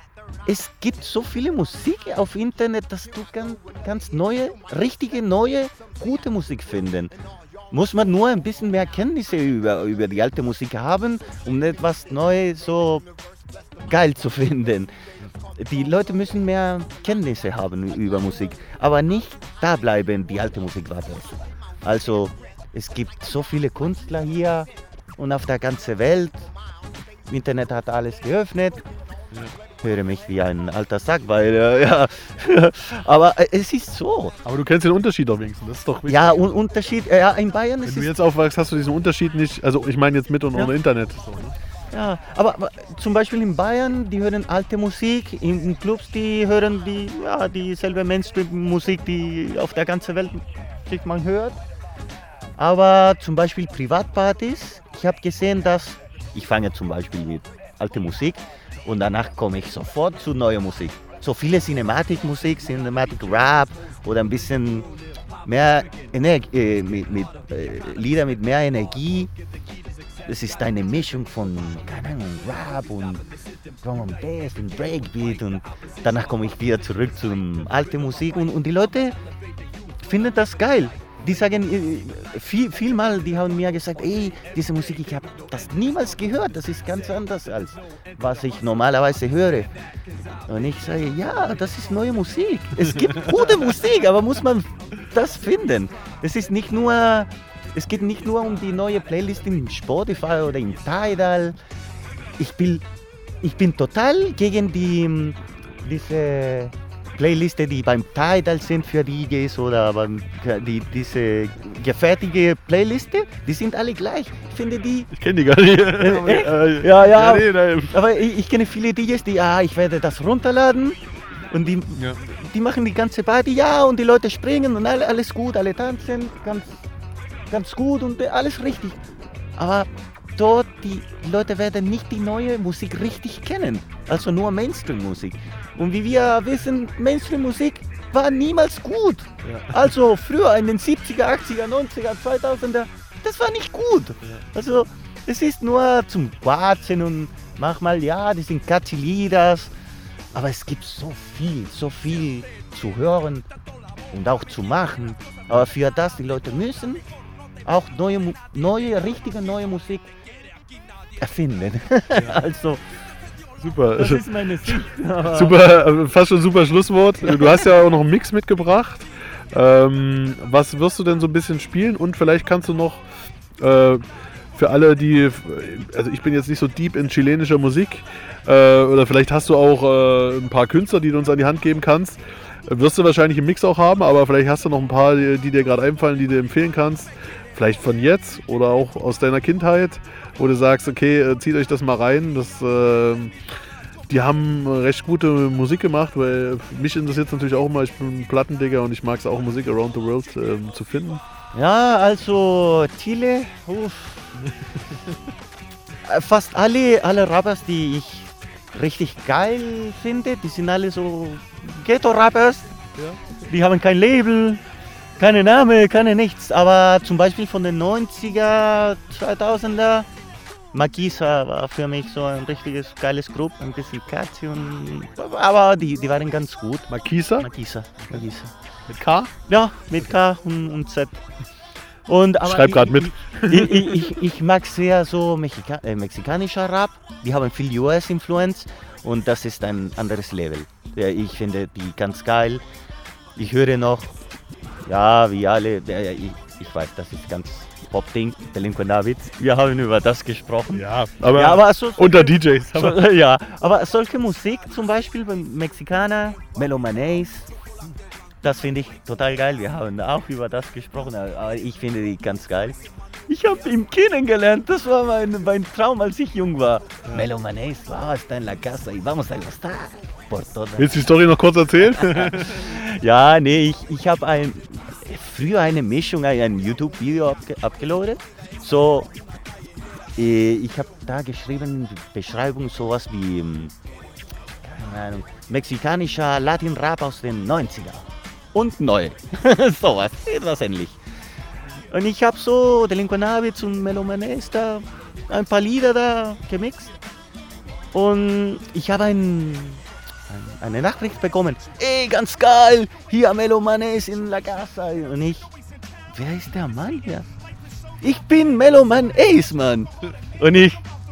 es gibt so viele Musik auf Internet, dass du kann, kannst neue, richtige, neue, gute Musik finden. Muss man nur ein bisschen mehr Kenntnisse über, über die alte Musik haben, um etwas Neues so geil zu finden. Die Leute müssen mehr Kenntnisse haben über Musik, aber nicht da bleiben, die alte Musik war besser. Also es gibt so viele Künstler hier und auf der ganzen Welt. Das Internet hat alles geöffnet. Ich höre mich wie ein alter Sack, weil, äh, ja, aber äh, es ist so. Aber du kennst den Unterschied auch wenigstens, das ist doch wichtig. Ja, un- Unterschied, äh, ja, in Bayern ist es... Wenn du jetzt aufwachst, hast du diesen Unterschied nicht, also ich meine jetzt mit und ja. ohne Internet. So, ne? Ja, aber, aber zum Beispiel in Bayern, die hören alte Musik, in, in Clubs, die hören die, ja, dieselbe Mainstream-Musik, die auf der ganzen Welt sich man hört. Aber zum Beispiel Privatpartys, ich habe gesehen, dass, ich fange zum Beispiel mit alter Musik und danach komme ich sofort zu neuer Musik. So viele Cinematic-Musik, Cinematic-Rap oder ein bisschen mehr Energie, äh, mit, mit äh, Lieder mit mehr Energie. Es ist eine Mischung von, keine Ahnung, Rap und Drum and Bass und Breakbeat und danach komme ich wieder zurück zur alten Musik und, und die Leute finden das geil. Die sagen, viel, viel mal, die haben mir gesagt, ey, diese Musik, ich habe das niemals gehört, das ist ganz anders als was ich normalerweise höre. Und ich sage, ja, das ist neue Musik. Es gibt gute Musik, aber muss man das finden. Es ist nicht nur, es geht nicht nur um die neue Playlist in Spotify oder in Tidal. Ich bin, ich bin total gegen die, diese Playliste, die beim Tidal sind für D Js oder beim, die, diese gefertigte Playliste, die sind alle gleich. Ich finde die... Ich kenne die gar nicht. Äh, ja, ja, ja nee, nein. Aber ich, ich kenne viele D Js, die, ah, ich werde das runterladen und die, ja. die machen die ganze Party, ja, und die Leute springen und alle, alles gut, alle tanzen, ganz, ganz gut und alles richtig. Aber dort, die Leute werden nicht die neue Musik richtig kennen. Also nur Mainstream-Musik. Und wie wir wissen, Mainstream-Musik war niemals gut. Ja. Also früher in den siebziger, achtziger, neunziger, zweitausender, das war nicht gut. Also es ist nur zum Quatschen und manchmal, ja, das sind catchy Lieder. Aber es gibt so viel, so viel zu hören und auch zu machen. Aber für das, die Leute müssen auch neue, neue richtige neue Musik erfinden. Ja. Also, super. Das ist meine Sicht. Super, fast schon super Schlusswort. Du hast ja auch noch einen Mix mitgebracht. Ähm, was wirst du denn so ein bisschen spielen? Und vielleicht kannst du noch äh, für alle, die, also ich bin jetzt nicht so deep in chilenischer Musik, äh, oder vielleicht hast du auch äh, ein paar Künstler, die du uns an die Hand geben kannst. Wirst du wahrscheinlich im Mix auch haben, aber vielleicht hast du noch ein paar, die, die dir gerade einfallen, die du empfehlen kannst. Vielleicht von jetzt oder auch aus deiner Kindheit, wo du sagst, okay, zieht euch das mal rein. Das, äh, die haben recht gute Musik gemacht, weil mich interessiert es natürlich auch immer, ich bin ein Plattendigger und ich mag es auch, Musik around the world äh, zu finden. Ja, also Chile, uff. Fast alle, alle Rappers, die ich richtig geil finde, die sind alle so Ghetto-Rappers. Ja. Die haben kein Label, keine Name, keine nichts. Aber zum Beispiel von den neunziger, zweitausender, Makisa war für mich so ein richtiges geiles Gruppe, ein bisschen catchy und, aber die, die waren ganz gut. Makisa? Makisa, Makisa. Mit K? Ja, mit K und, und Z. Und, aber schreib gerade mit. Ich, ich, ich, ich mag sehr so Mexika äh, mexikanischer Rap. Die haben viel U S-Influence und das ist ein anderes Level. Ja, ich finde die ganz geil. Ich höre noch, ja, wie alle, ja, ich, ich weiß, das ist ganz Pop-Ding, Delinquent David. Wir haben über das gesprochen. Ja, aber, ja, aber so, unter D Js. So, ja, aber solche Musik, zum Beispiel beim Mexikaner, Melomanes, das finde ich total geil. Wir haben auch über das gesprochen, aber ich finde die ganz geil. Ich habe ihn kennengelernt, das war mein, mein Traum, als ich jung war. Ja. Melomanes, wow, está en la casa y vamos a gustar. Willst du die Story noch kurz erzählen? Ja, nee, ich, ich habe ein, früher eine Mischung, ein YouTube-Video abge, abgeladen. So, ich habe da geschrieben, Beschreibung sowas wie, keine Ahnung, mexikanischer Latin-Rap aus den neunziger und neu. Sowas, etwas ähnlich. Und ich habe so Delinquent Habits und Melomanes da ein paar Lieder da gemixt. Und ich habe ein, ein, eine Nachricht bekommen. Ey, ganz geil, hier Melomanes in la casa. Und ich, wer ist der Mann hier? Ich bin Meloman Ace, Mann. Und ich,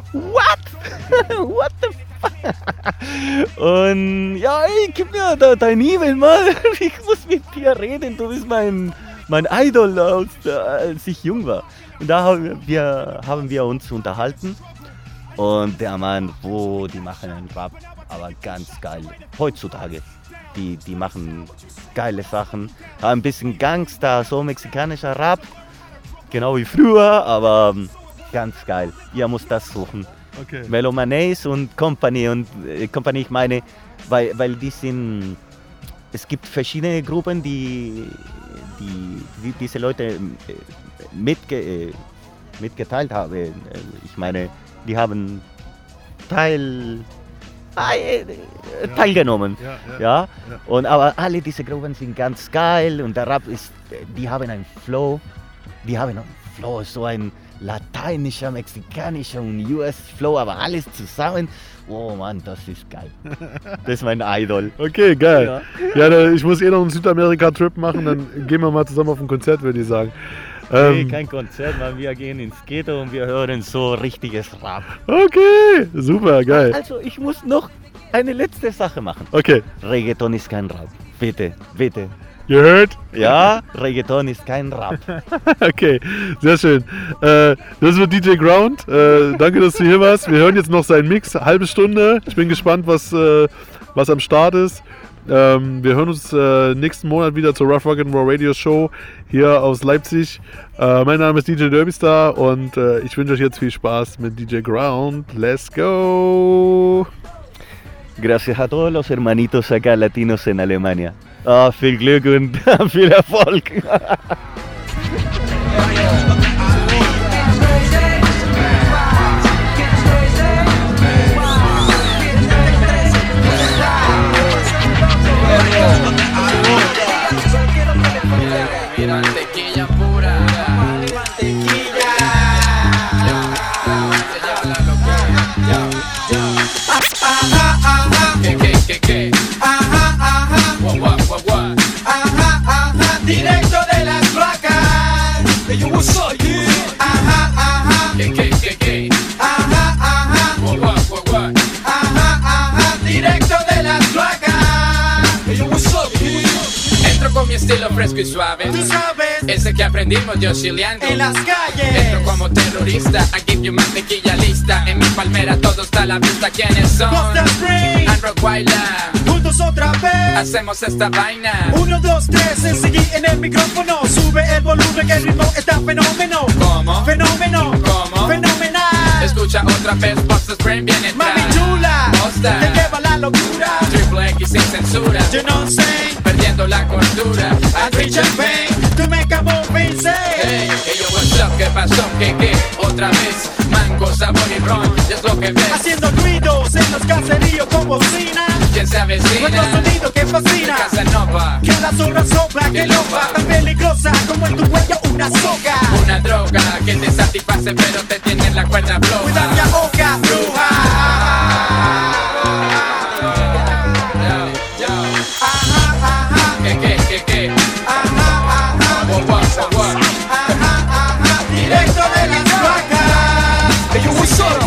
what? What the fuck? Und ja, ey, gib mir da dein E-Mail mal. Ich muss mit dir reden, du bist mein... mein Idol, als, als ich jung war. Und da haben wir, haben wir uns unterhalten. Und der Mann, wo die machen einen Rap, aber ganz geil. Heutzutage, die, die machen geile Sachen. Ein bisschen Gangster, so mexikanischer Rap. Genau wie früher, aber ganz geil. Ihr müsst das suchen. Okay. Melomanes und Company. Und äh, Company, ich meine, weil, weil die sind... Es gibt verschiedene Gruppen, die... Die, die diese Leute mitge, mitgeteilt haben. Ich meine, die haben Teil, äh, teilgenommen. Ja, ja, ja. Ja. Und, aber alle diese Gruppen sind ganz geil und der Rap ist, die haben einen Flow, die haben einen Flow, so ein lateinischer, mexikanischer und U S-Flow, aber alles zusammen. Oh Mann, das ist geil. Das ist mein Idol. Okay, geil. Ja, ja, ich muss eh noch einen Südamerika-Trip machen, dann gehen wir mal zusammen auf ein Konzert, würde ich sagen. Nee, ähm, kein Konzert, weil wir gehen ins Ghetto und wir hören so richtiges Rap. Okay, super, geil. Also ich muss noch eine letzte Sache machen. Okay. Reggaeton ist kein Rap. Bitte, bitte. You heard? Ja, Reggaeton ist kein Rap. Okay, sehr schön. Äh, das wird D J Ground. Äh, danke, dass du hier warst. Wir hören jetzt noch seinen Mix, halbe Stunde. Ich bin gespannt, was, äh, was am Start ist. Ähm, wir hören uns äh, nächsten Monat wieder zur Rough Rock'n'Roll Radio Show hier aus Leipzig. Äh, mein Name ist D J Derbystar und äh, ich wünsche euch jetzt viel Spaß mit D J Ground. Let's go! Gracias a todos los hermanitos acá latinos en Alemania. Oh, viel Glück und viel Erfolg. directo de las cloacas. Hey, yo, what's up, kid? Entro con mi estilo fresco y suave. Tú sabes, ese que aprendimos yo chileando en las calles. Entro como terrorista, I give you mantequilla lista. En mi palmera todo está a la vista. ¿Quiénes son? Costa Spring, And Rockweiler. juntos otra vez. Hacemos esta vaina. Uno, dos, tres, seguí en el micrófono. Sube el volumen que el ritmo está fenómeno. ¿Cómo? Fenómeno. ¿Cómo? Fenomenal. Escucha otra vez, Costa Spring viene Mami atrás. chula, Costa. te lleva la locura. Triple X sin censura. Yo no sé, Perdiendo la cordura. I drink champagne, to make a movie say. Hey, hey, yo, what's up? ¿Qué pasó? ¿Qué, qué? Otra vez, mango, sabor y ron, es lo que ves. Haciendo ruidos en los caseríos con bocina. ¿Quién se avecina? Nuestro sonido que fascina. Casanova, Que la zorra sopla, que loca, tan peligrosa como en tu cuello una soga. una droga que te satisface pero te tiene en la cuerda floja. Cuida mi boca, bruja. Yo, yo, Ajá, ajá, ¿qué, qué, qué, qué? ajá, ajá, What, what, what, what? ajá, ajá. Directo de las vacas. Hey, yo, what's up,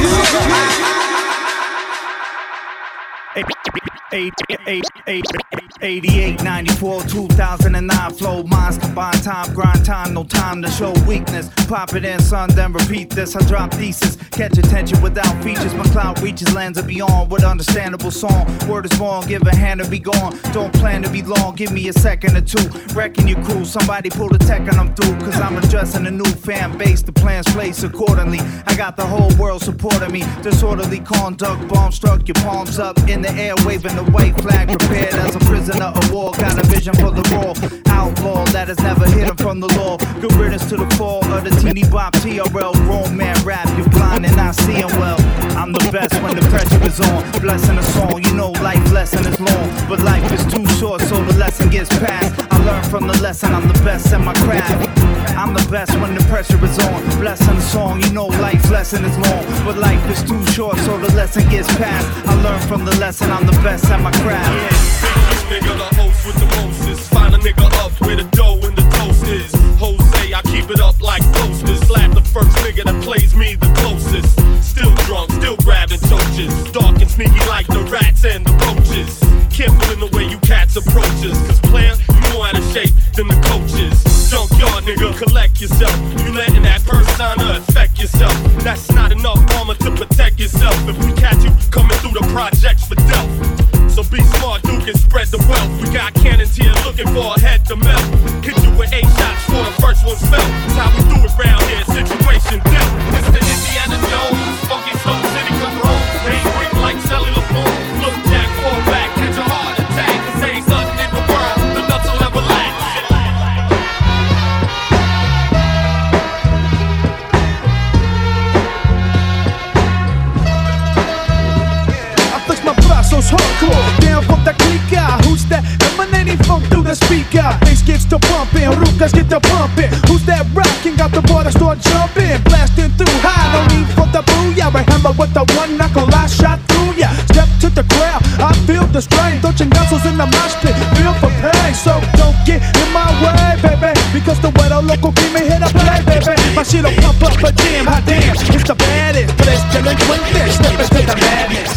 eighty-eight, ninety-four, two thousand nine flow minds combine time, grind time, no time to show weakness. Pop it in, son, then repeat this. I drop thesis, catch attention without features. My cloud reaches lands and beyond with understandable song. Word is born, give a hand to be gone. Don't plan to be long, give me a second or two. Wrecking your crew, somebody pull the tech and I'm through. Cause I'm addressing a new fan base, the plans placed accordingly. I got the whole world supporting me. Disorderly conduct, bomb struck, your palms up in the air, waving the white flag, prepared as a prisoner of war. Got a vision for the raw outlaw that has never hidden from the law. Good riddance to the fall of the teeny bop T R L. Grown man rap, you're blind and not seeing well. I'm the best when the pressure is on. Blessing a song, you know life lesson is long, but life is too short, so the lesson gets passed. I learn from the lesson, I'm the best at my craft. I'm the best when the pressure is on. Blessing the song, you know life lesson is long, but life is too short, so the lesson gets passed. I learn from the lesson, I'm the best at my craft. Nigga, the host with the mostest. Find a nigga up where the dough and the toast is. Jose, I keep it up like posters. Slap the first nigga that plays me the closest. Still drunk, still grabbing torches. Dark and sneaky like the rats and the roaches. Careful in the way you cats approaches. Cause player, you more out of shape than the coaches. Junkyard nigga, collect yourself. You letting that persona affect yourself. That's not enough armor to protect yourself. If we catch you coming through the projects for death. So be smart, Duke, and spread the wealth. We got cannons here looking for a head to melt. Hit you with eight shots for the first one fell. That's how we do it round here, situation dealt. It's the Indiana Jones, funky slow city control. They break like cellular phone. Look jack, fall back, catch a heart attack. Cause ain't nothing in the world, the nuts will ever lack. Hardcore, down from the clica. Who's that emanating funk through the speaker? Bass gets to pumping, Rukas get to pumping. Who's that rocking? Got the water start jumping, blasting through high. No need for the booyah. Remember with the one knuckle I shot through ya. Step to the crowd, I feel the strain. Touching muscles in the mosh pit, feel for pain. So don't get in my way, baby, because the weather local keep me here to play, baby. My shit'll pump up a jam, hot damn. It's the baddest, but it's delinquent. Step into the madness.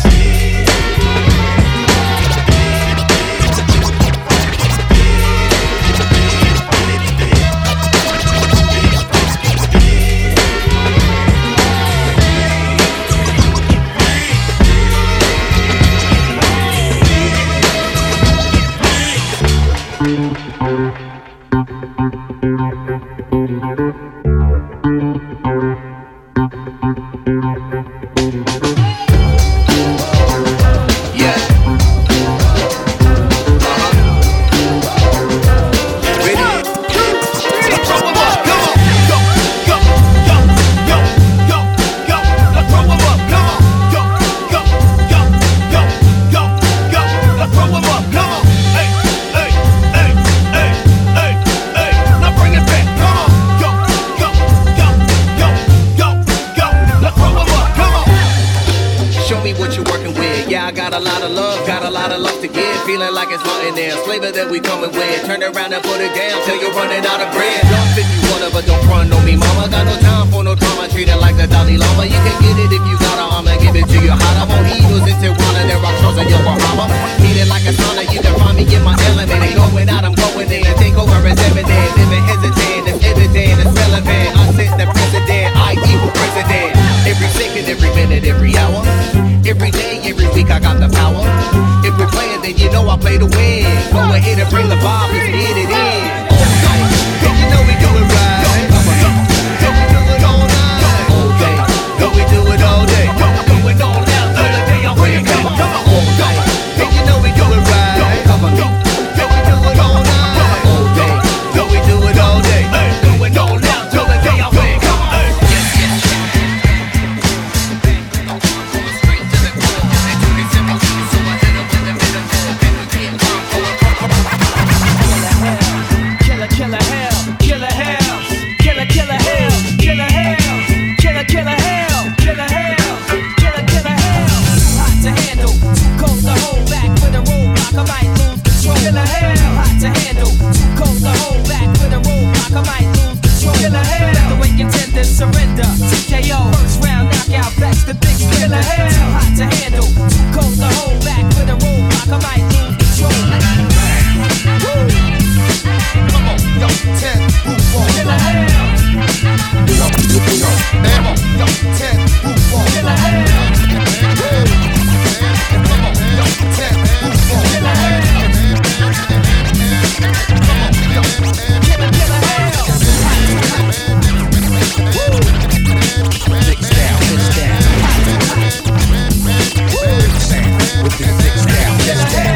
Your heart, I won't eat those into one of their rocks, and your But we're here to bring the vibe, let's get it in. And you know we do it right. And we do it all night. All day. No, we do it all day. Going all out till the day I wake up. Come on, all day. And you know we do it right. Come on. And we do it all night. All day. No, we do it all day. Going all out till the day I wake up. Killer, killer hell, killer hell, killer, killer hell, killer hell, killer, killer hell, killer hell, killer, killer hell. Hot to handle, cold to hold back with a roadblock, I might lose control. Killer hell, hot to handle, cold to hold back with a roadblock, I might lose control. Killer hell, let the way contenders surrender. T K O, first round knockout, backs the big spin. Killer hell, hot to handle, cold to hold back with a roadblock, I might lose control. Woo! Come on, yo, ten, move on. Killer hell. Yo, yo, yo, come on, yo, ten, move on. Killer hell. Come on, yo, ten, move on. Killer hell. Come on, yo, killer, killer hell. Woo! Six down, six down. Woo! With the six down, six down.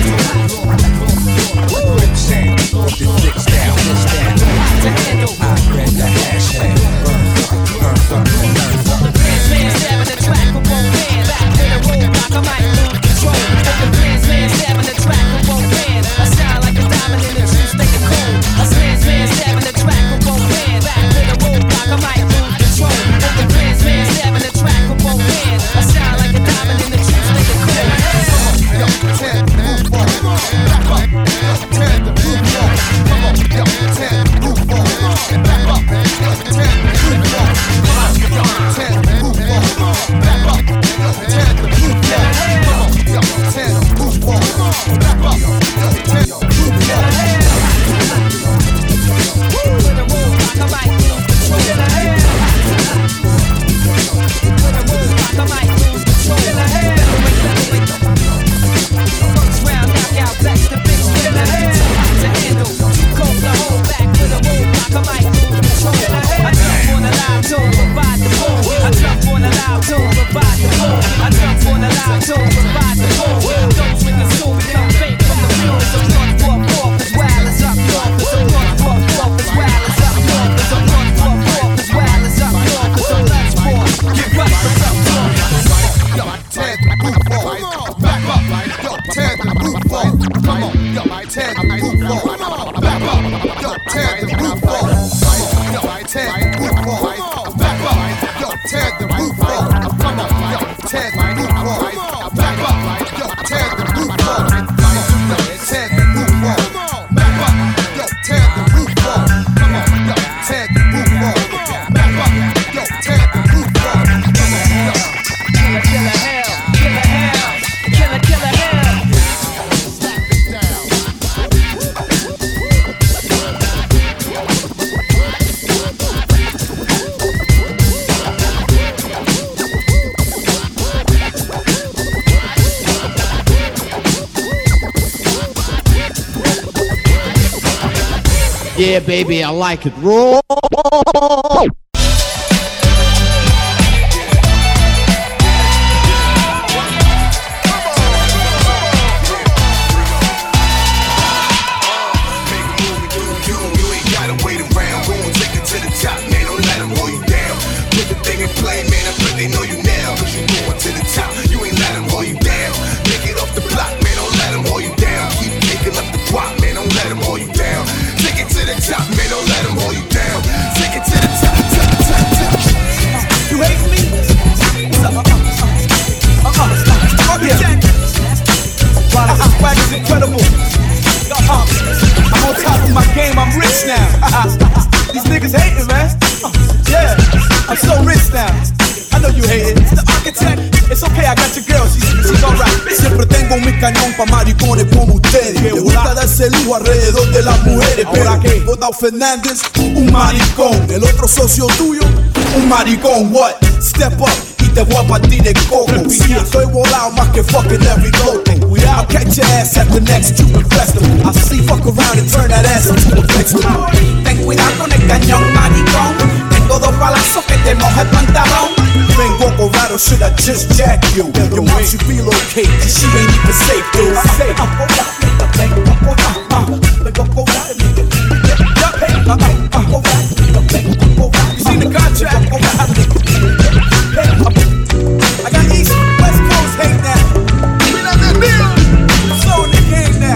With the six down, six down. I read the hashtag. Burn some, burn some, burn some. The Prince man stabbing the track with both hands. Back to the roadblock, I might lose control. The Prince man stabbing the track with both hands. I shine like a diamond in the true state of cold. A Prince man stabbing the track with both hands. Back to the roadblock, I might lose control. The Prince man stabbing the track with both hands. I shine like a diamond in the true state of cold. Yo, ten, move on. Back up. Yo, ten, move on. Come on, yo, ten, move on. Back up. Yo, ten, move on. Yo, ten, move on. Back up. Yo, ten, move on. Come on, yo, ten, move on. Back up. Yo, ten, move on. Woo! With a roadblock, I might lose control. With a roadblock, I might lose control. First round knockout, backs the big spin. To handle, cold to hold back with a roadblock, I might lose control. I jump on a loud tune, provide the boom. I jump on a loud tune, provide the boom. I jump on a loud tune, provide the boom. Those with the soul become fake from the fumes. I'm going for a fourth as well as up north. Cause I'm going for a fourth as well as up north. Cause I'm going for a fourth as well as up north. Cause I'm blood sport, get rough, what's up north. Yo, ten, move on. Back up, yo, ten, move on. Come on, yo, ten, move on. Back up, yo, ten, move on. Yo, ten, move on. Back up, yo, ten, move on. Come on, yo, ten, move on. Back up, yo, ten, move on. Yo, ten, move on. Back up, yo, ten, move on. Come on, yo, ten, move on. Back up, yo, ten, move on. Come on, yo, killer, killer hell, killer hell, killer, killer hell. Slap it down. Yeah, baby, I like it. Roll. Incredible. Uh, I'm on top of my game, I'm rich now. These niggas hating, man. Uh, yeah, I'm so rich now. I know you hate it. It's the architect. It's okay, I got your girl, she's, she's alright. Siempre tengo mi cañón pa' maricones como ustedes. Le gusta darse lujo alrededor de las mujeres. Pero que Donald Fernández, un maricón. El otro socio tuyo, un maricón. What? Step up. Te voy a partir el coco. Sí, estoy volado más que fucking every loco. I'll catch your ass at the next Cuban festival. I see, fuck around and turn that ass into a vegetable. Ten cuidado con el cañón, maricón. Tengo dos balazos que te moja el pantalón. Vengo Colorado, should I just jack you? Your mom should feel okay, cause she ain't even safe, dude. Safe. You seen the contract? I got East, West Coast hate now. I'm slowing the game now.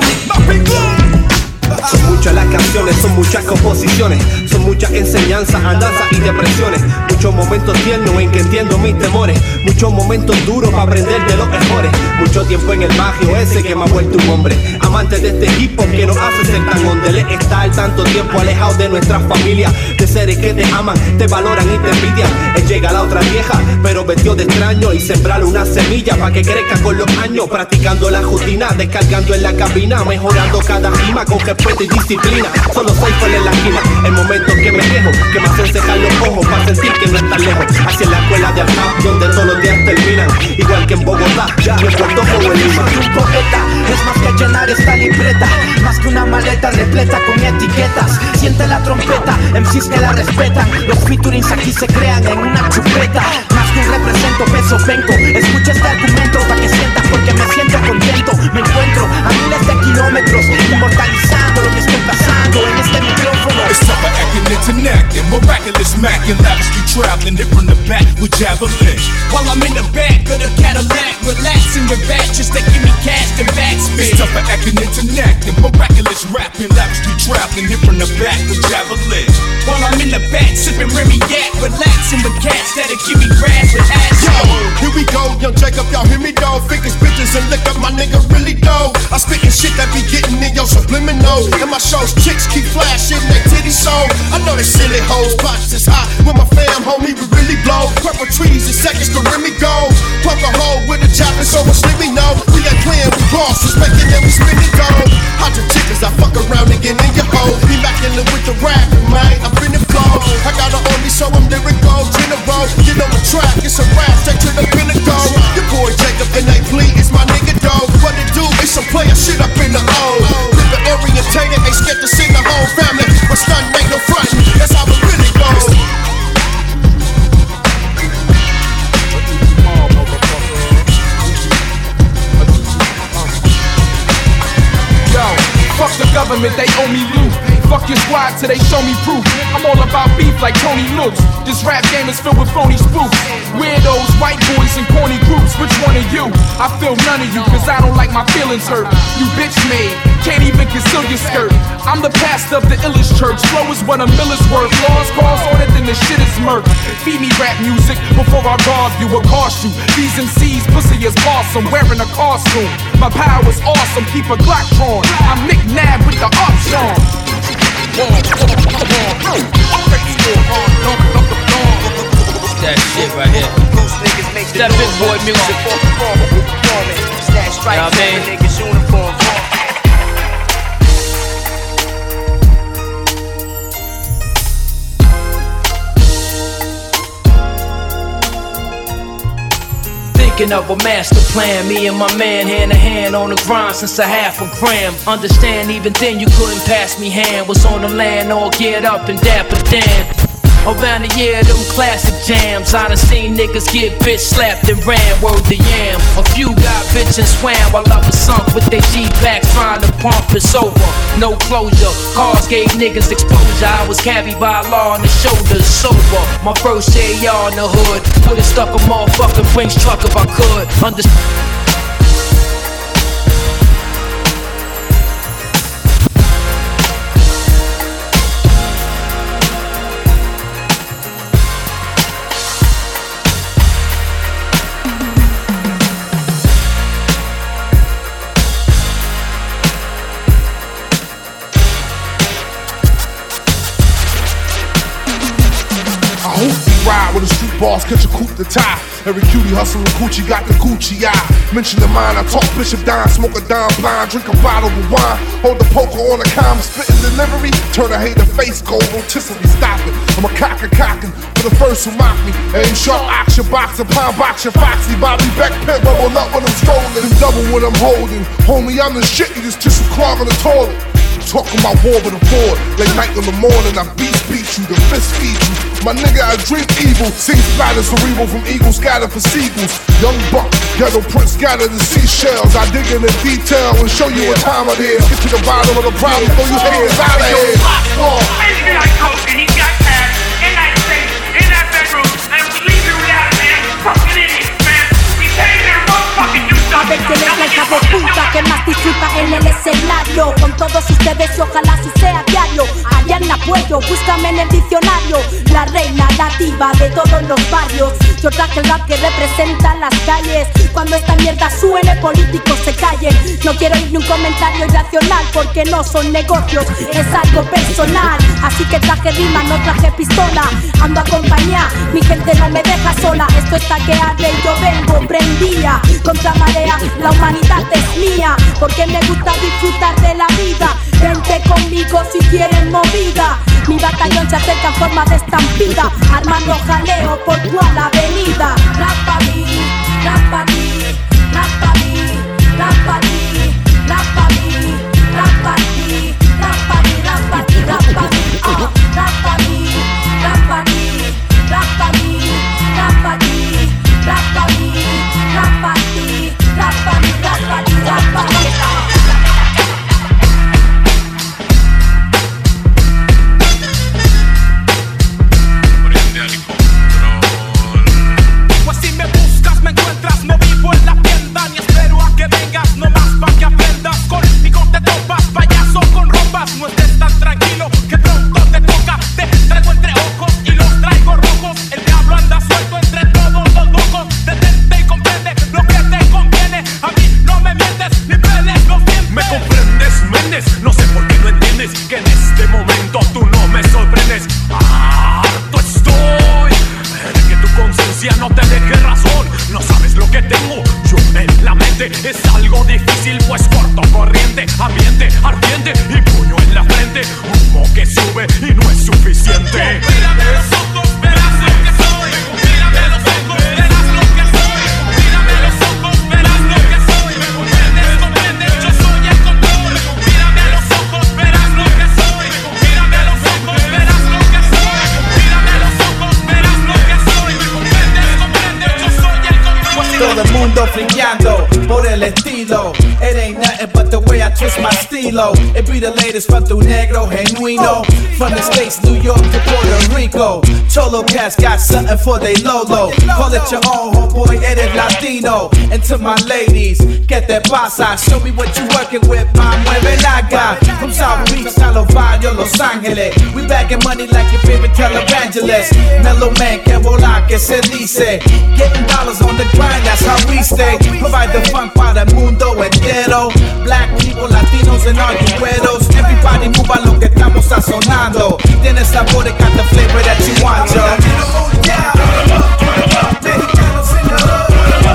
Son muchas las canciones, son muchas composiciones, son muchas enseñanzas, andanzas y depresiones. Muchos momentos tiernos en que entiendo mis temores, muchos momentos duros para aprender de los mejores. Mucho tiempo en el barrio ese que me ha vuelto un hombre, amante de este hip hop que nos hace ser tan ondele. Estar tanto tiempo alejado de nuestras familias, de seres que te aman, te valoran y te envidian. Él llega a la otra vieja, pero vestido de extraño, y sembrar una semilla para que crezca con los años. Practicando la rutina, descargando en la cabina, mejorando cada rima con respeto y disciplina. Solo soy full en la esquina, el momento que me quejo, que me hacen cejar los ojos para sentir que no estás lejos. Hacia la escuela de acá, donde todos los días terminan, igual que en Bogotá, y en Puerto Rico en Lima. Un poeta es más que llenar esta libreta, más que una maleta repleta con etiquetas. Siente la trompeta, M Cs que la respetan. Los featurings aquí se crean en una chupeta. Más que un represento, peso vengo. Escucha este argumento para que sientas, porque me siento contento. Me encuentro a miles de kilómetros, inmortalizando lo que estoy pasando en este micrófono. It's tough for acting interconnected, miraculous Mac and lavishly traveling it from the back with javelin. While I'm in the back of the Cadillac, relaxing with batch, just taking me cash and backspin. It's tough for acting interconnected, miraculous rapping, lavishly traveling it from the back with javelin. While I'm in the back, sipping Remy Yak, relaxing with cats that'll give me grass with ass. Yo, here we go, young Jacob, y'all hear me though. Figures, bitches, and liquor, my nigga really dope. I spittin' shit that be getting in your subliminal. And my shows, chicks keep flashing that titty soul. I know they silly hoes, pots is hot. With my fam, homie, we really blow. Purple trees in seconds to Remy go. Plug a hole with a chopping, so much let me know. We ain't playing, we bosses, making them we spinning gold. Hundred chickens, I fuck around and get in your hole. Be macking it with the rap, man, I'm finna flow. I got a only so I'm lyrical, general. Get on the track, it's a rap, straight to the pinnacle. Your boy Jacob and they plea is my nigga dog. What it do is some player shit up in the O. Living orientated, ain't scared to see the whole family. But stun ain't no front, that's how it really goes. Yo, fuck the government, they owe me loot. Fuck your squad till they show me proof. I'm all about beef like Tony Luke's. This rap game is filled with phony spoofs. Weirdos, white boys, and corny groups. Which one are you? I feel none of you, cause I don't like my feelings hurt. You bitch made, can't even conceal your skirt. I'm the pastor of the illest church. Flow is what a miller's worth. Laws calls on it, then the shit is murk. Feed me rap music before I rob you or cost you. These M Cs, pussy is awesome, wearing a costume. My power's awesome, keep a Glock drawn. I'm Nick Nab with the option. That shit right here. That big boy music. You know what I mean? Thinking of a master plan, me and my man hand to hand on the grind since a half a gram. Understand, even then you couldn't pass me hand. Was on the land all geared up and dapper Dan. Around the year, them classic jams. I done seen niggas get bitch slapped and ran, word to yam. A few got bitch and swam while others sunk with their G-packs trying to pump us over. No closure, cars gave niggas exposure. I was carried by law on the shoulders, sober. My first A R in the hood, would've stuck a motherfucking Brinks truck if I could. Understand. With a street boss, catch a coupe to tie. Every cutie hustling Gucci got the Gucci eye. Mention the mine, I talk Bishop Dime, smoke a dime blind, drink a bottle of wine, hold the poker on the comm, spitting delivery, turn a hater face gold, rotisserie stopping. I'm a cocker cocking, but the first who mock me. Aim sharp, action, boxer, pound boxer, foxy, Bobby Beck, pimp, bubble up when I'm strolling. Double what I'm holding. Homie, I'm the shit, you just tissue clog on the toilet. Talking about war with a board. Late night in the morning, I beat beat you, the fist feed you. My nigga, I dream evil. Sing splatter cerebral from eagles, scattered for seagulls. Young buck, ghetto prince, scattered the seashells. I dig in the detail and show you what time it is. Get to the bottom of the problem, throw your hands out of here. Basically like coke and he got cash in that safe, in that bedroom, and we leave you without a man. Fucking idiot, man. We came here, motherfucking do something. De que es la hija de puta que más disfruta en el escenario. Con todos ustedes y ojalá así sea diario. Ariana Puello, búscame en el diccionario. La reina nativa de todos los barrios. Yo traje el rap que representa las calles. Cuando esta mierda suene, políticos se callen. No quiero oír ni un comentario irracional porque no son negocios, es algo personal. Así que traje rima, no traje pistola. Ando acompañada, mi gente no me deja sola. Esto está que arde y yo vengo prendía. Contra marea, la humanidad es mía. Porque me gusta disfrutar de la vida. Vente conmigo si quieren movida. Mi batallón se acerca en forma de estampida, armando jaleo por toda la avenida. Rapadi, rapadi, rapadi, rapadi, rapadi, rapadi, rapadi, rapadi, rapadi, ah, rapadi, rapadi, rapadi, rapadi, rapadi, rapadi, rapadi, rapadi, rapadi, ah. No estés tan tranquilo que pronto te toca. Te traigo entre ojos y los traigo rojos. El diablo anda suelto entre todos los locos. Detente y comprende lo que te conviene. A mí no me mientes ni peles los dientes. Me comprendes, Méndez. No sé por qué no entiendes que en este momento tú no me sorprendes. Harto estoy de que tu conciencia no te deje razón. No sabes lo que tengo yo en la mente. Es algo difícil pues corto corriente. Ambiente ardiente y puño en la frente. Humo que sube y no es suficiente. Mírame los ojos, verás lo que soy. Mírame los ojos, verás lo que soy. Mírame los ojos, verás lo que soy. Me comprendes, comprendes, yo soy el control. Mírame los ojos, verás lo que soy. Mírame los ojos, verás lo que soy. Mírame los ojos, verás lo que soy. Me comprendes, comprendes, yo soy el control. Todo el mundo friqueando por el estilo. It ain't nothing but the way I twist my stilo. It be the latest from tu negro genuino. From the States, New York to Puerto Rico. Cholo cats got something for they Lolo. Call it your own, homeboy, eres Latino. And to my ladies, get that pasa. Show me what you working with, ma mueve naga. From South Beach, San Lovato, Los Angeles. We bagging money like your favorite televangelist. Mellow man, que volar, que se dice. Getting dollars on the grind, that's how we stay. Provide the fun para el mundo entero. Black people, Latinos and all you güeros. Everybody move a lo que estamos sazonando. Tiene sabor, got the flavor that you want, yo. Mexicanos in the hood.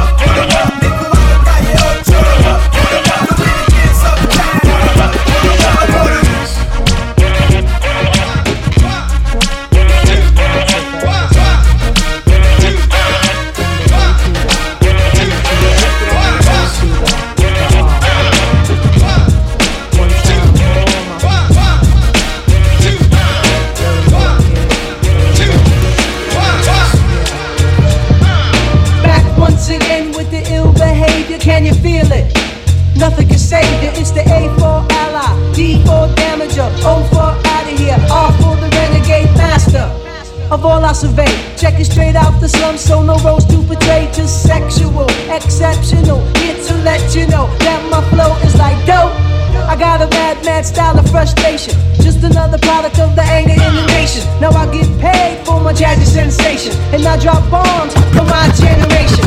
Can you feel it? Nothing can save you. It's the A for ally, D for damager, O for out of here, R for the renegade master of all I survey. Check it straight out the slum, so no roles to portray. Just sexual, exceptional. Here to let you know that my flow is like dope. I got a mad, mad style of frustration. Just another product of the anger in the nation. Now I get paid for my jazzy sensation, and I drop bombs for my generation.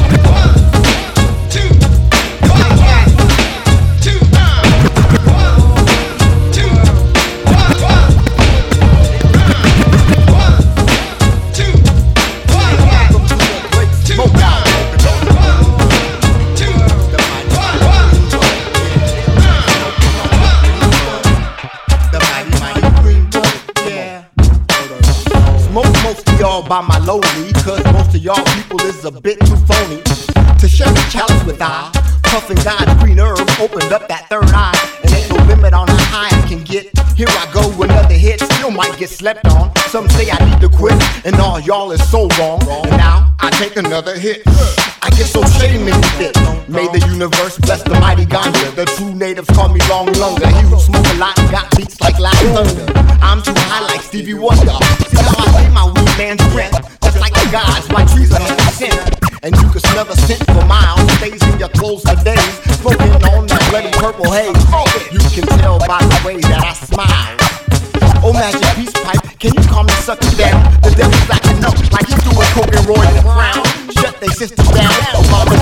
by my lonely, cause most of y'all people is a bit too phony to share the chalice with I. Puffin' God's green herb opened up that third eye, and ain't no limit on how high I can get. Here I go, another hit, still might get slept on. Some say I need to quit, and all y'all is so wrong. And now I take another hit. I get so shame in it. May the universe bless the mighty ganja. The true natives call me Long Lunger. He who smoke a lot and got beats like Loud Thunder. I'm too high like Stevie Wonder. See how I lay my weed man's breath. Just like the gods, my trees are heavy scent. And you can smell the scent for miles. Stays in your clothes for days. Smoking on that bloody purple haze. You can tell by the way that I smile. Oh, magic peace pipe, can you calm the sucker down? The devil's acting up like he's doing coke and Roy in the crown. Shut they sisters down. Oh, mama.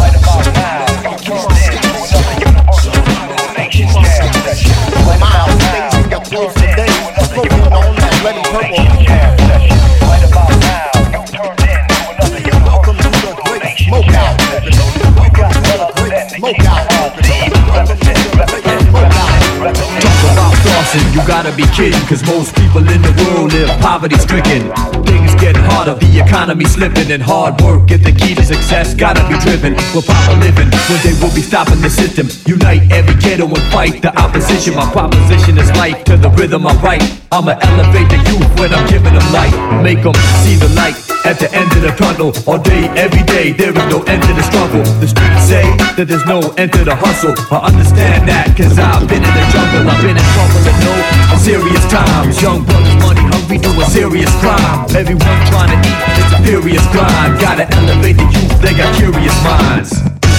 Miles stays in your clothes for days. Smoking on that bloody purple. Welcome to the great smoke out. Welcome to the great smoke out. Talk about flossing, you gotta be kidding, cause most people in the world live poverty stricken. Things get harder, the economy slipping, and hard work is the key to success. Gotta be driven, we're proper living, one day we'll be stopping the system. Unite every ghetto and fight the opposition. My proposition is life to the rhythm I write. I'ma elevate the youth when I'm giving them light. Make them see the light at the end of the tunnel. All day, every day, there is no end to the struggle. The streets say that there's no end to the hustle. I understand that, cause I've been in the jungle. I've been in trouble and know serious times. Young brothers, money hungry, doing serious crime. Everyone trying to eat, it's a furious grind. Gotta elevate the youth, they got curious minds.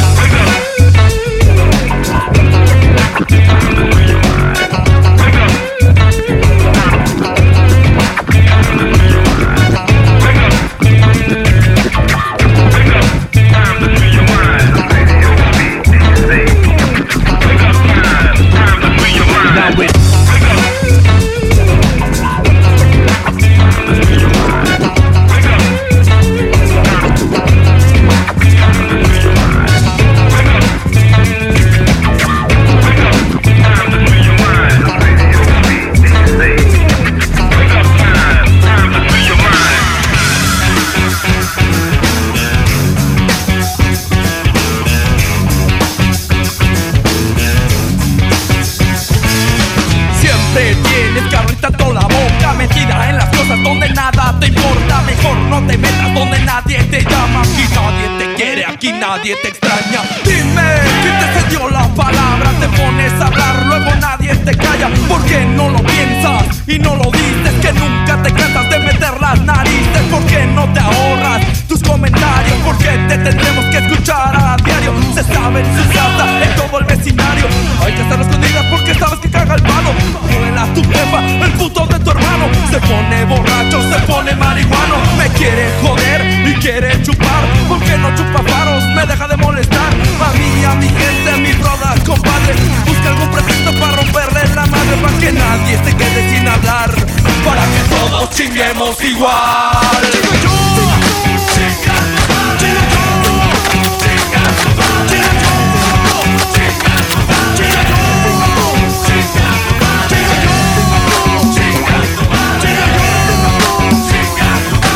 Nadie te extraña. Dime, ¿quién te cedió la palabra? Te pones a hablar, luego nadie te calla. ¿Por qué no lo piensas y no lo dices? Que nunca te cansas de meter las narices. ¿Por qué no te ahorras tus comentarios? ¿Por qué te tendremos que escuchar a diario? Se sabe en su casa, en todo el vecindario. Hay que estar escondidas porque sabes que caga el palo. Vuela tu jefa, el puto de tu hermano. Se pone borracho, se pone marihuano. Me quiere joder y quiere chupar. ¿Por qué no chupa faros? Me deja de molestar. A mí, a mi gente, a mis brodas, compadre. Busca algún pretexto para romperle la madre. Para que nadie se quede sin hablar. Para que todos chinguemos igual. Chingo yo, chinga, chinga yo, chinga, chinga yo, chinga, chinga yo, chinga, chinga yo, chinga, chinga yo, chinga,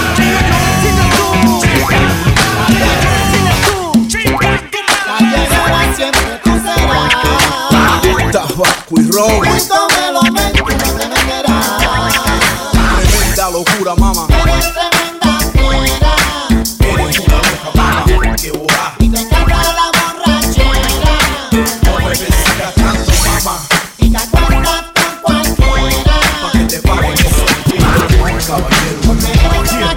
chinga yo, siempre tú serás. Tabaco y ron. Cuento me lo mente, no te venderás. Tremenda locura, mamá. Eres tremenda fiera. Eres una loca, mamá. Que boja. Y te encanta la borrachera. No me persigas tanto, mamá. Y te acuestas con cualquiera. Pa' que te paguen eso. Caballero. Porque eres una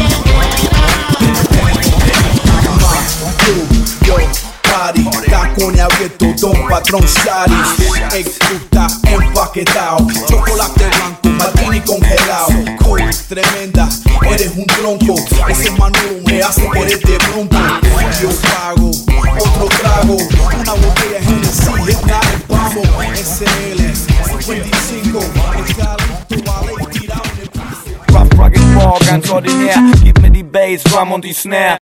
callejera. Yo, party, tacones abiertos, don patrón Sari. Exusta, empaquetado, chocolate blanco, martini congelado. Cool, tremenda, eres un tronco. Ese Manolo me hace querer de pronto. Yo pago, otro trago, una botella de Genesis, es nada de pavo. S L, cincuenta y cinco, está listo, vale, tirado en el piso. Rough, rugged, raw, ganz ordinär. Gib mir die Bass, Drum und die Snare.